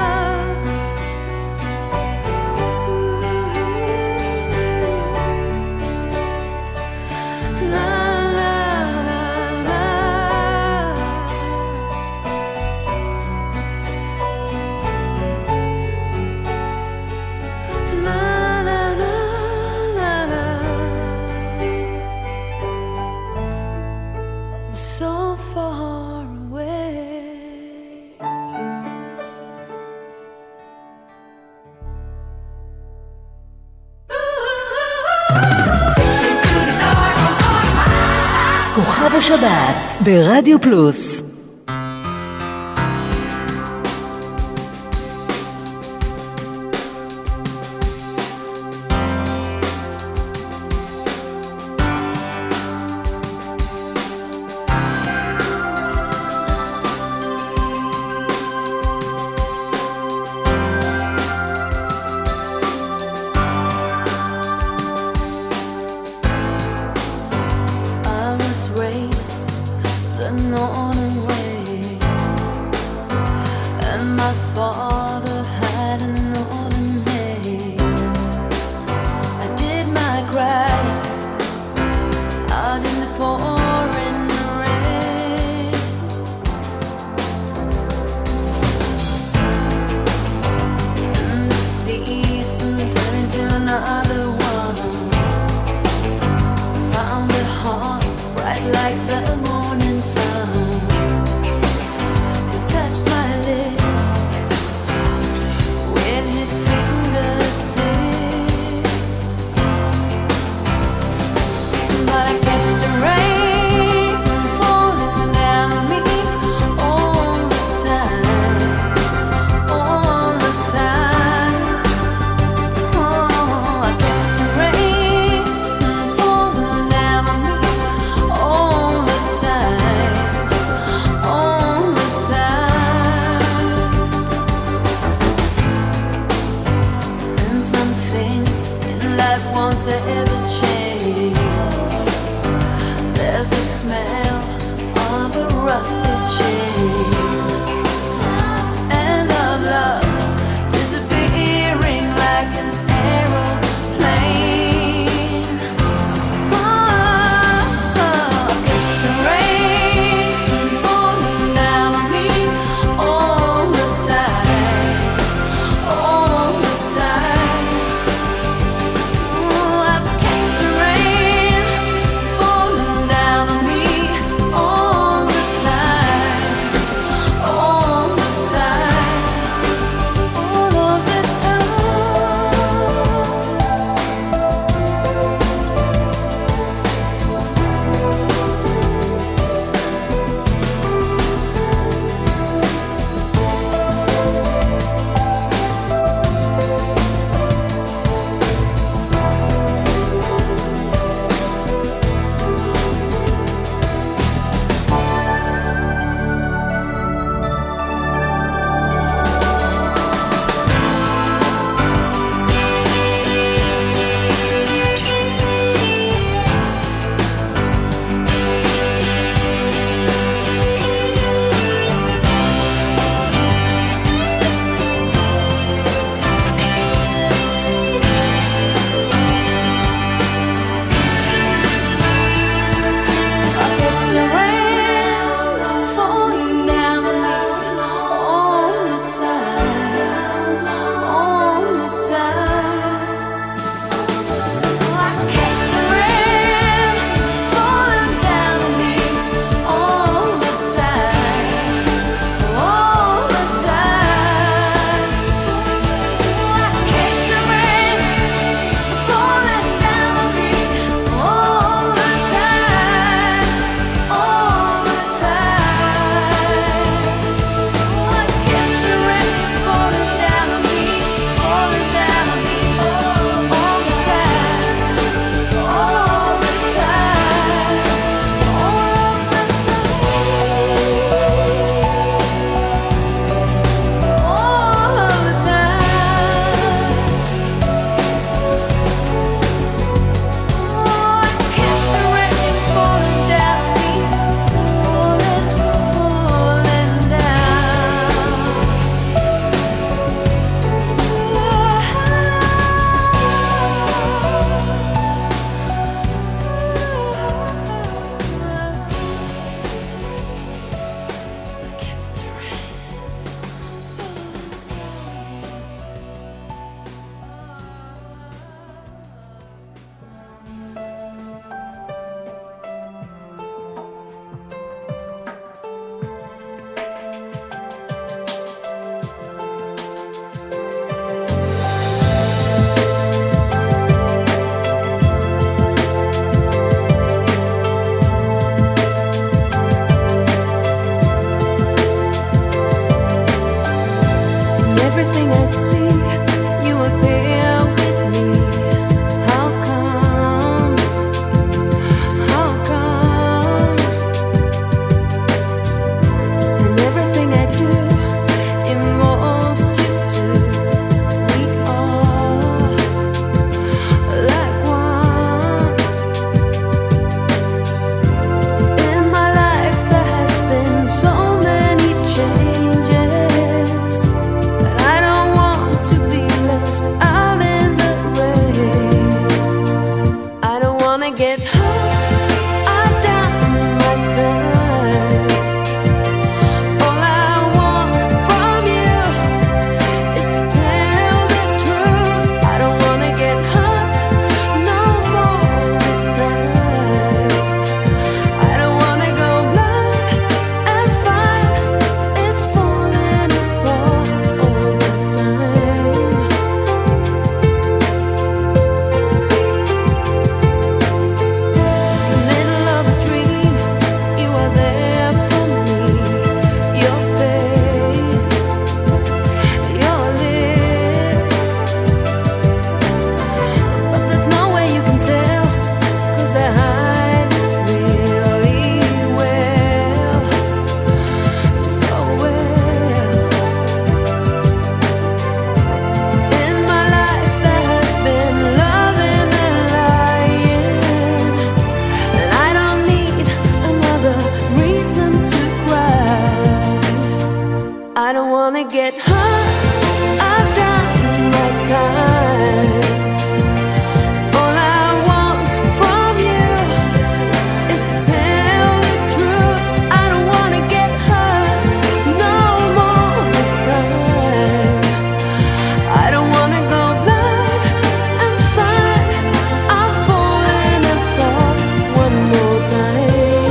Na na na na. Na na na na na. So far away. כוכב השבת ברדיו פלוס. I was raised the northern see you appear with me. How come? How come? And everything I do involves you too. We are like one. In my life there has been so many changes that I don't want to be left out in the rain. I don't wanna get hurt. I've done my time. All I want from you is to tell the truth. I don't wanna get hurt no more this time. I don't wanna go blind and find it's falling apart all the time. In the middle of a dream, you are there for me. Your face, your lips, but there's no way you can tell, 'cause I hide it really well, so well. In my life there has been loving and lying, and I don't need another reason to cry. I don't wanna get hurt. I've done my time. All I want from you is to tell the truth. I don't wanna get hurt no more this time. I don't wanna go blind and find I'm falling apart one more time.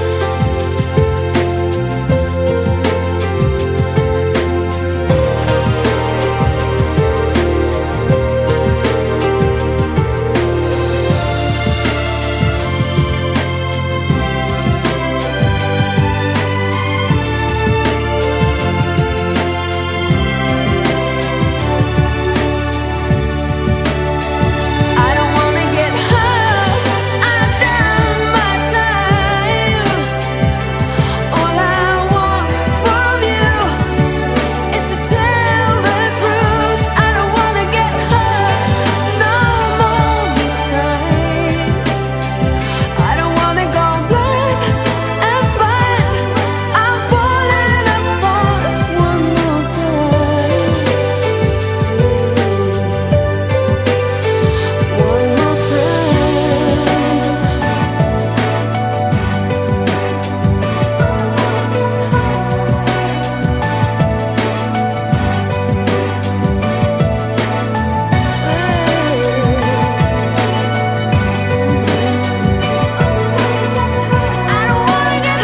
I don't wanna get hurt. I've done my time. All I want from you is to tell the truth. I don't wanna get hurt no more this time. I don't wanna go blind and find I'm falling apart one more time. One more time. I don't wanna get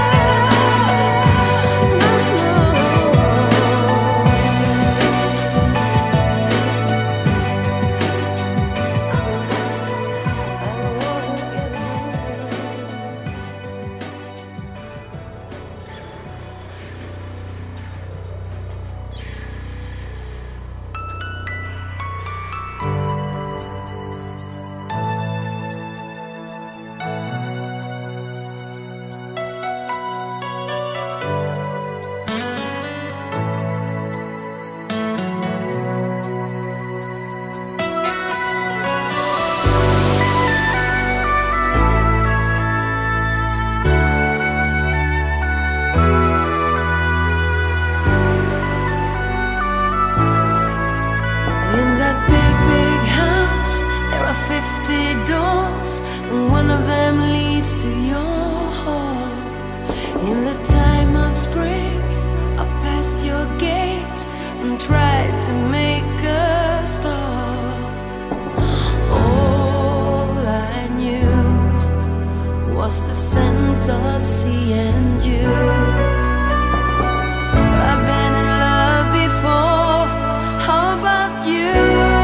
In that big, big house, there are 50 doors, and one of them leads to your heart. In the time of spring, I passed your gate and tried to make a start. All I knew was the scent of sea and you. I've been in love before. How about you?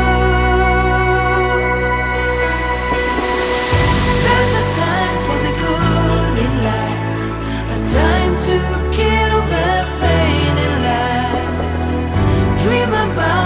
There's a time for the good in life, a time to kill the pain in life. Dream about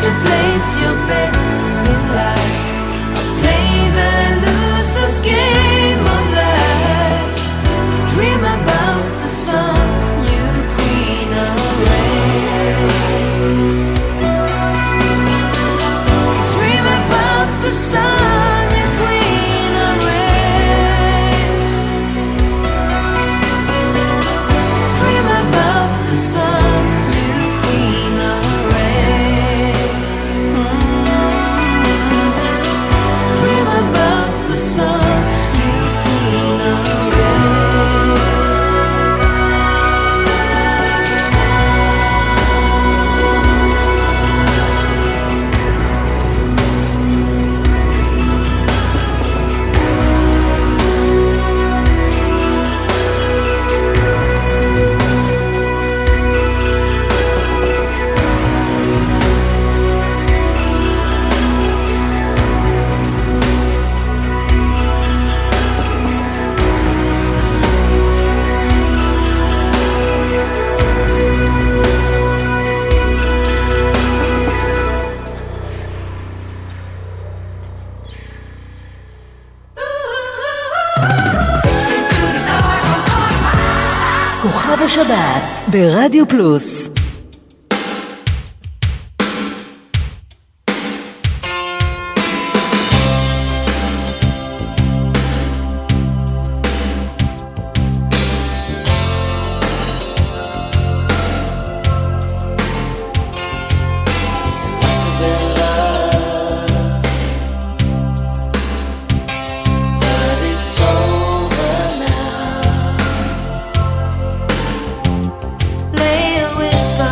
to place your bets in life. Play the loser's game of life. Dream about the sun, you queen of rain. Dream about the sun, you queen of rain. Dream about the sun, you queen of rain. Dream about the sun, you queen of כוכב השבת ברדיו פלוס. Lay a whisper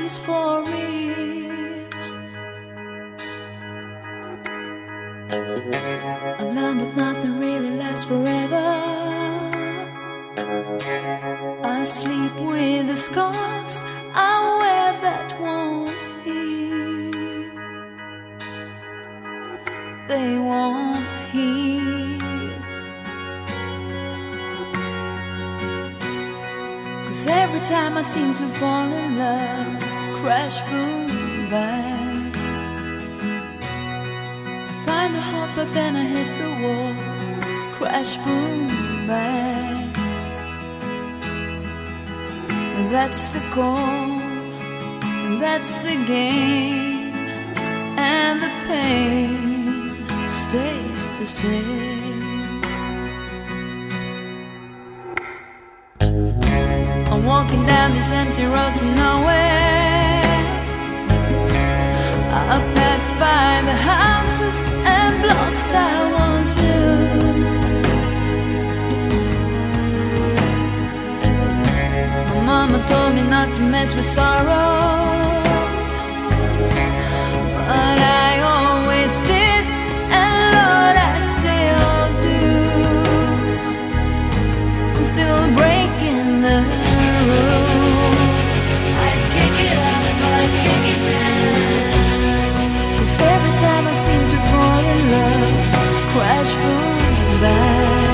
is for real. I've learned that nothing really lasts forever. I sleep with the scars I wear that won't heal. They won't heal. 'Cause every time I seem to fall in love, crash, boom, bang, I find a heart but then I hit the wall. Crash, boom, bang. That's the goal, that's the game, and the pain stays the same. I'm walking down this empty road to nowhere. I pass by the houses and blocks I once knew. Mama told me not to mess with sorrow, but I always did, and Lord, I still do. I'm still breaking the rule. I kick it up, I kick it down. 'Cause every time I seem to fall in love, crash, boom, bang,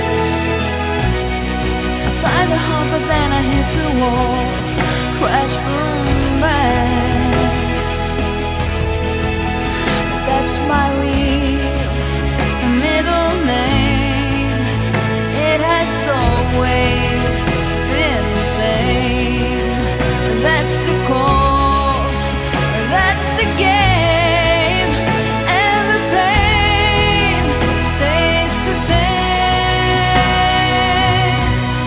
find a heart but then I hit the wall. Crash, boom, bang. That's my real middle name. It has always been the same. That's the call, that's the game, and the pain stays the same.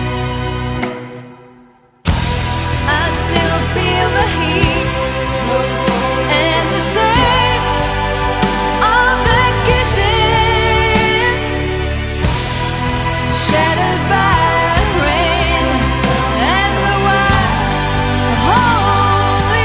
I still feel the heat and the taste of the kissing, shattered by rain and the holy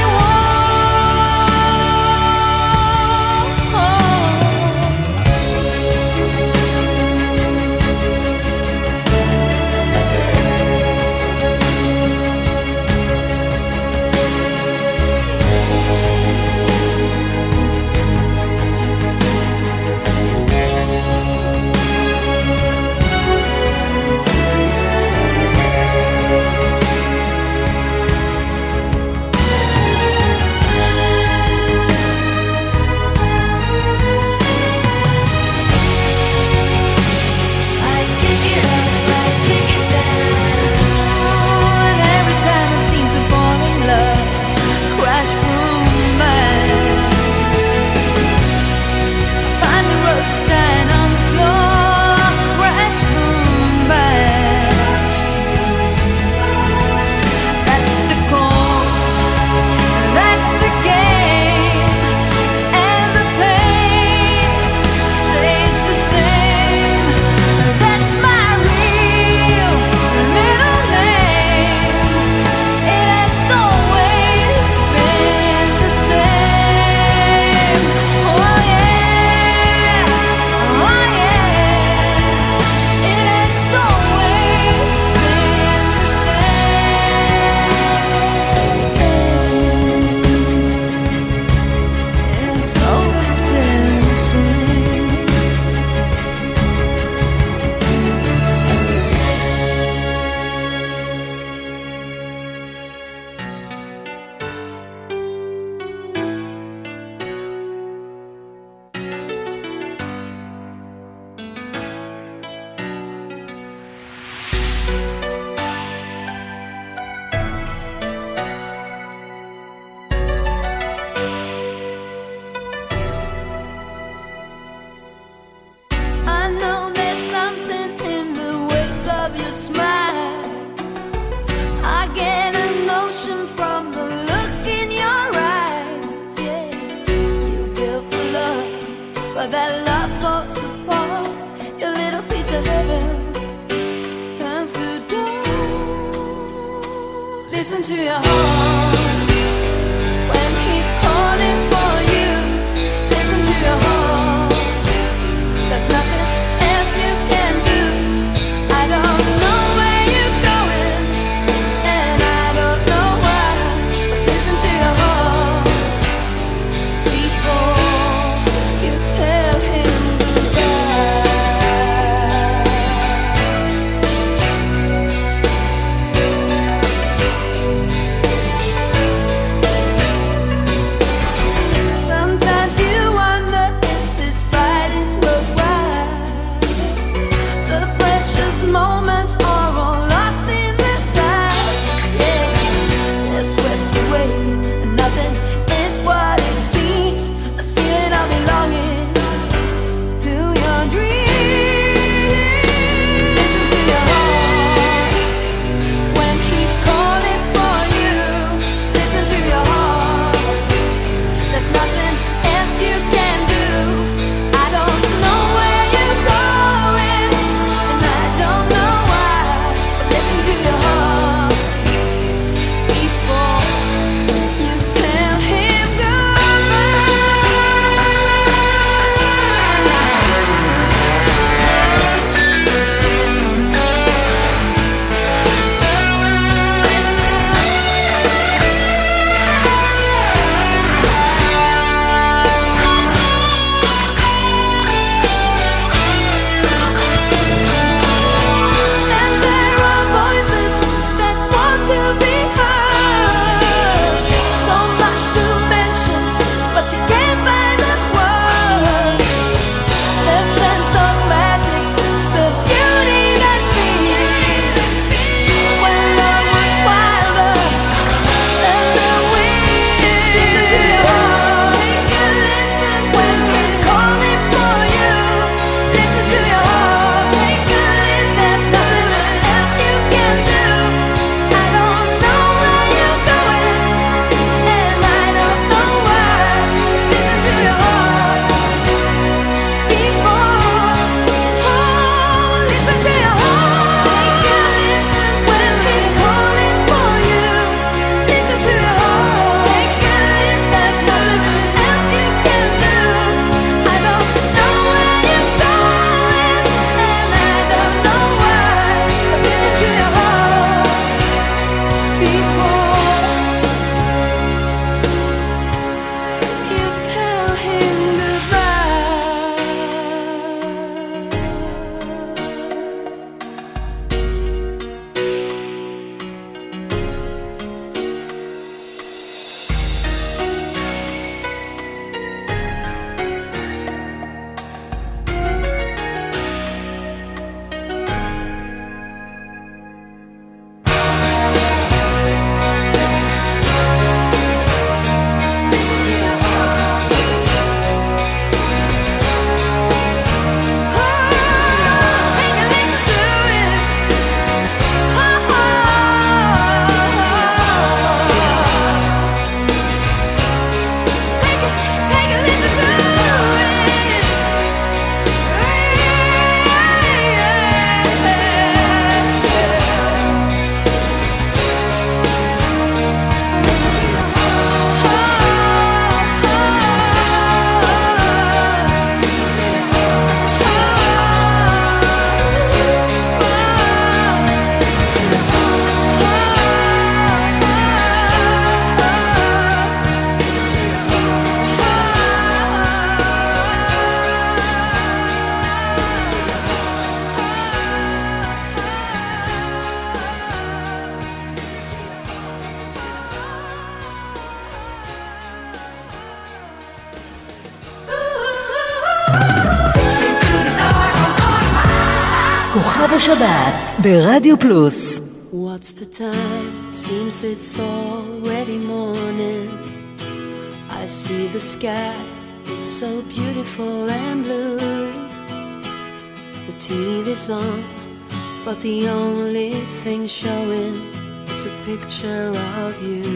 for that love falls apart. Your little piece of heaven turns to dust. Listen to your heart. כוכב השבת ברדיו פלוס. What's the time? Seems it's already morning. I see the sky, it's so beautiful and blue. The TV's on, but the only thing showing is a picture of you.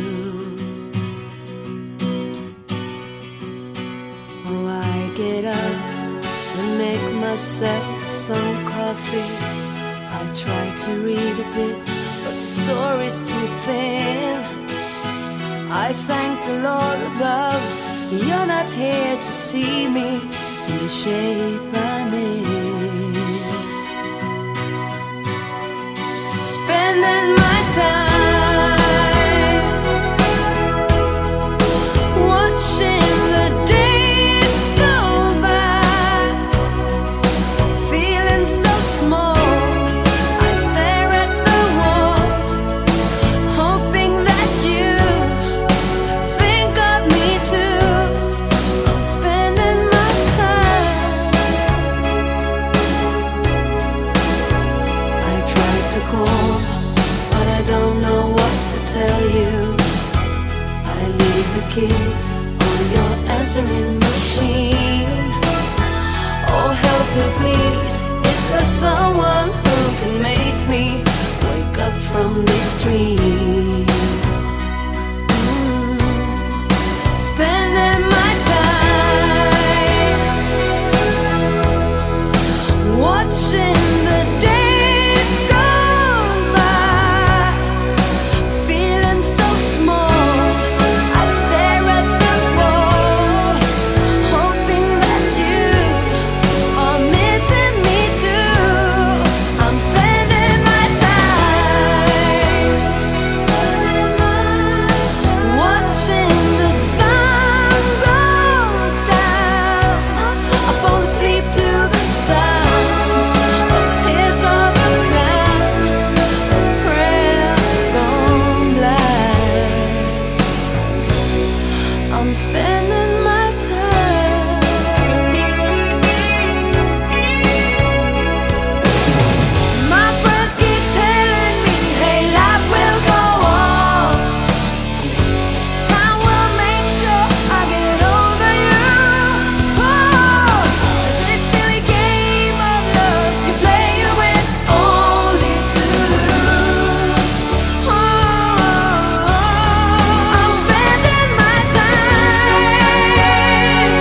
Oh, I get up and make myself some coffee. I try to read a bit, but the story's too thin. I thank the Lord above, you're not here to see me in the shape I'm in. Spending my time watching the days go by, feeling so small. I stare at the wall, hoping that you think of me too. I'm spending my time. I try to call, but I don't know what to tell you. I leave the keys on your answering machine. Oh, help me please, is there someone who can make me wake up from this dream? Spending my time watching the days go by, feeling so small. I stare at the wall, hoping that you are missing me too. I'm spending my time watching the sun go down. I fall asleep to the sound of tears of a clown, a prayer gone blind. I'm spending my time. My friends keep telling me, hey, life will go on. Time will make sure I get over you. Oh, this silly game of love you play, you win only to lose. Oh, I'm spending my time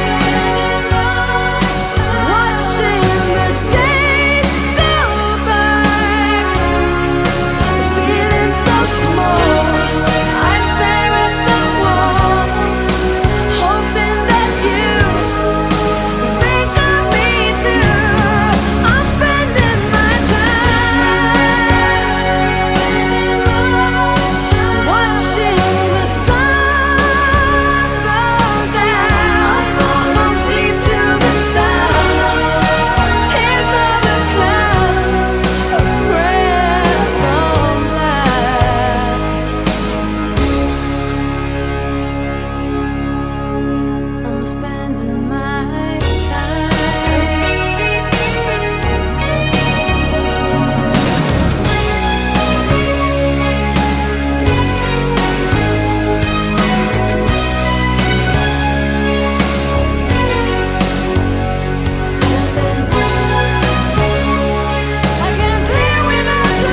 watching the days go by, feeling so small. I stare at the wall, hoping that you think of me too. I'm spending my time watching the sun go down. Fall asleep to the sound of tears of a clown, a prayer gone blind. I'm spending my time. I can't live without your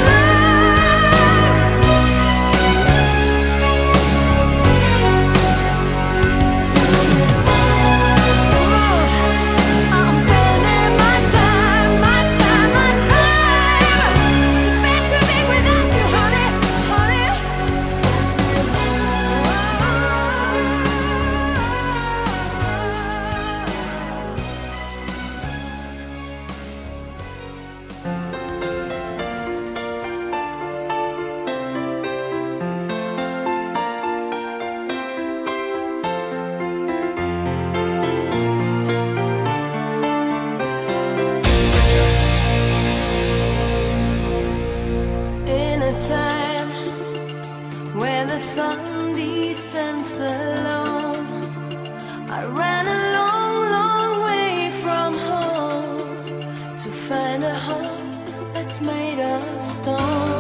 love. I'm spending my time, my time, my time. Best to be without you, honey, honey. Spending my in a time where the sun descends alone, I ran a long, long way from home to find a home that's of stone.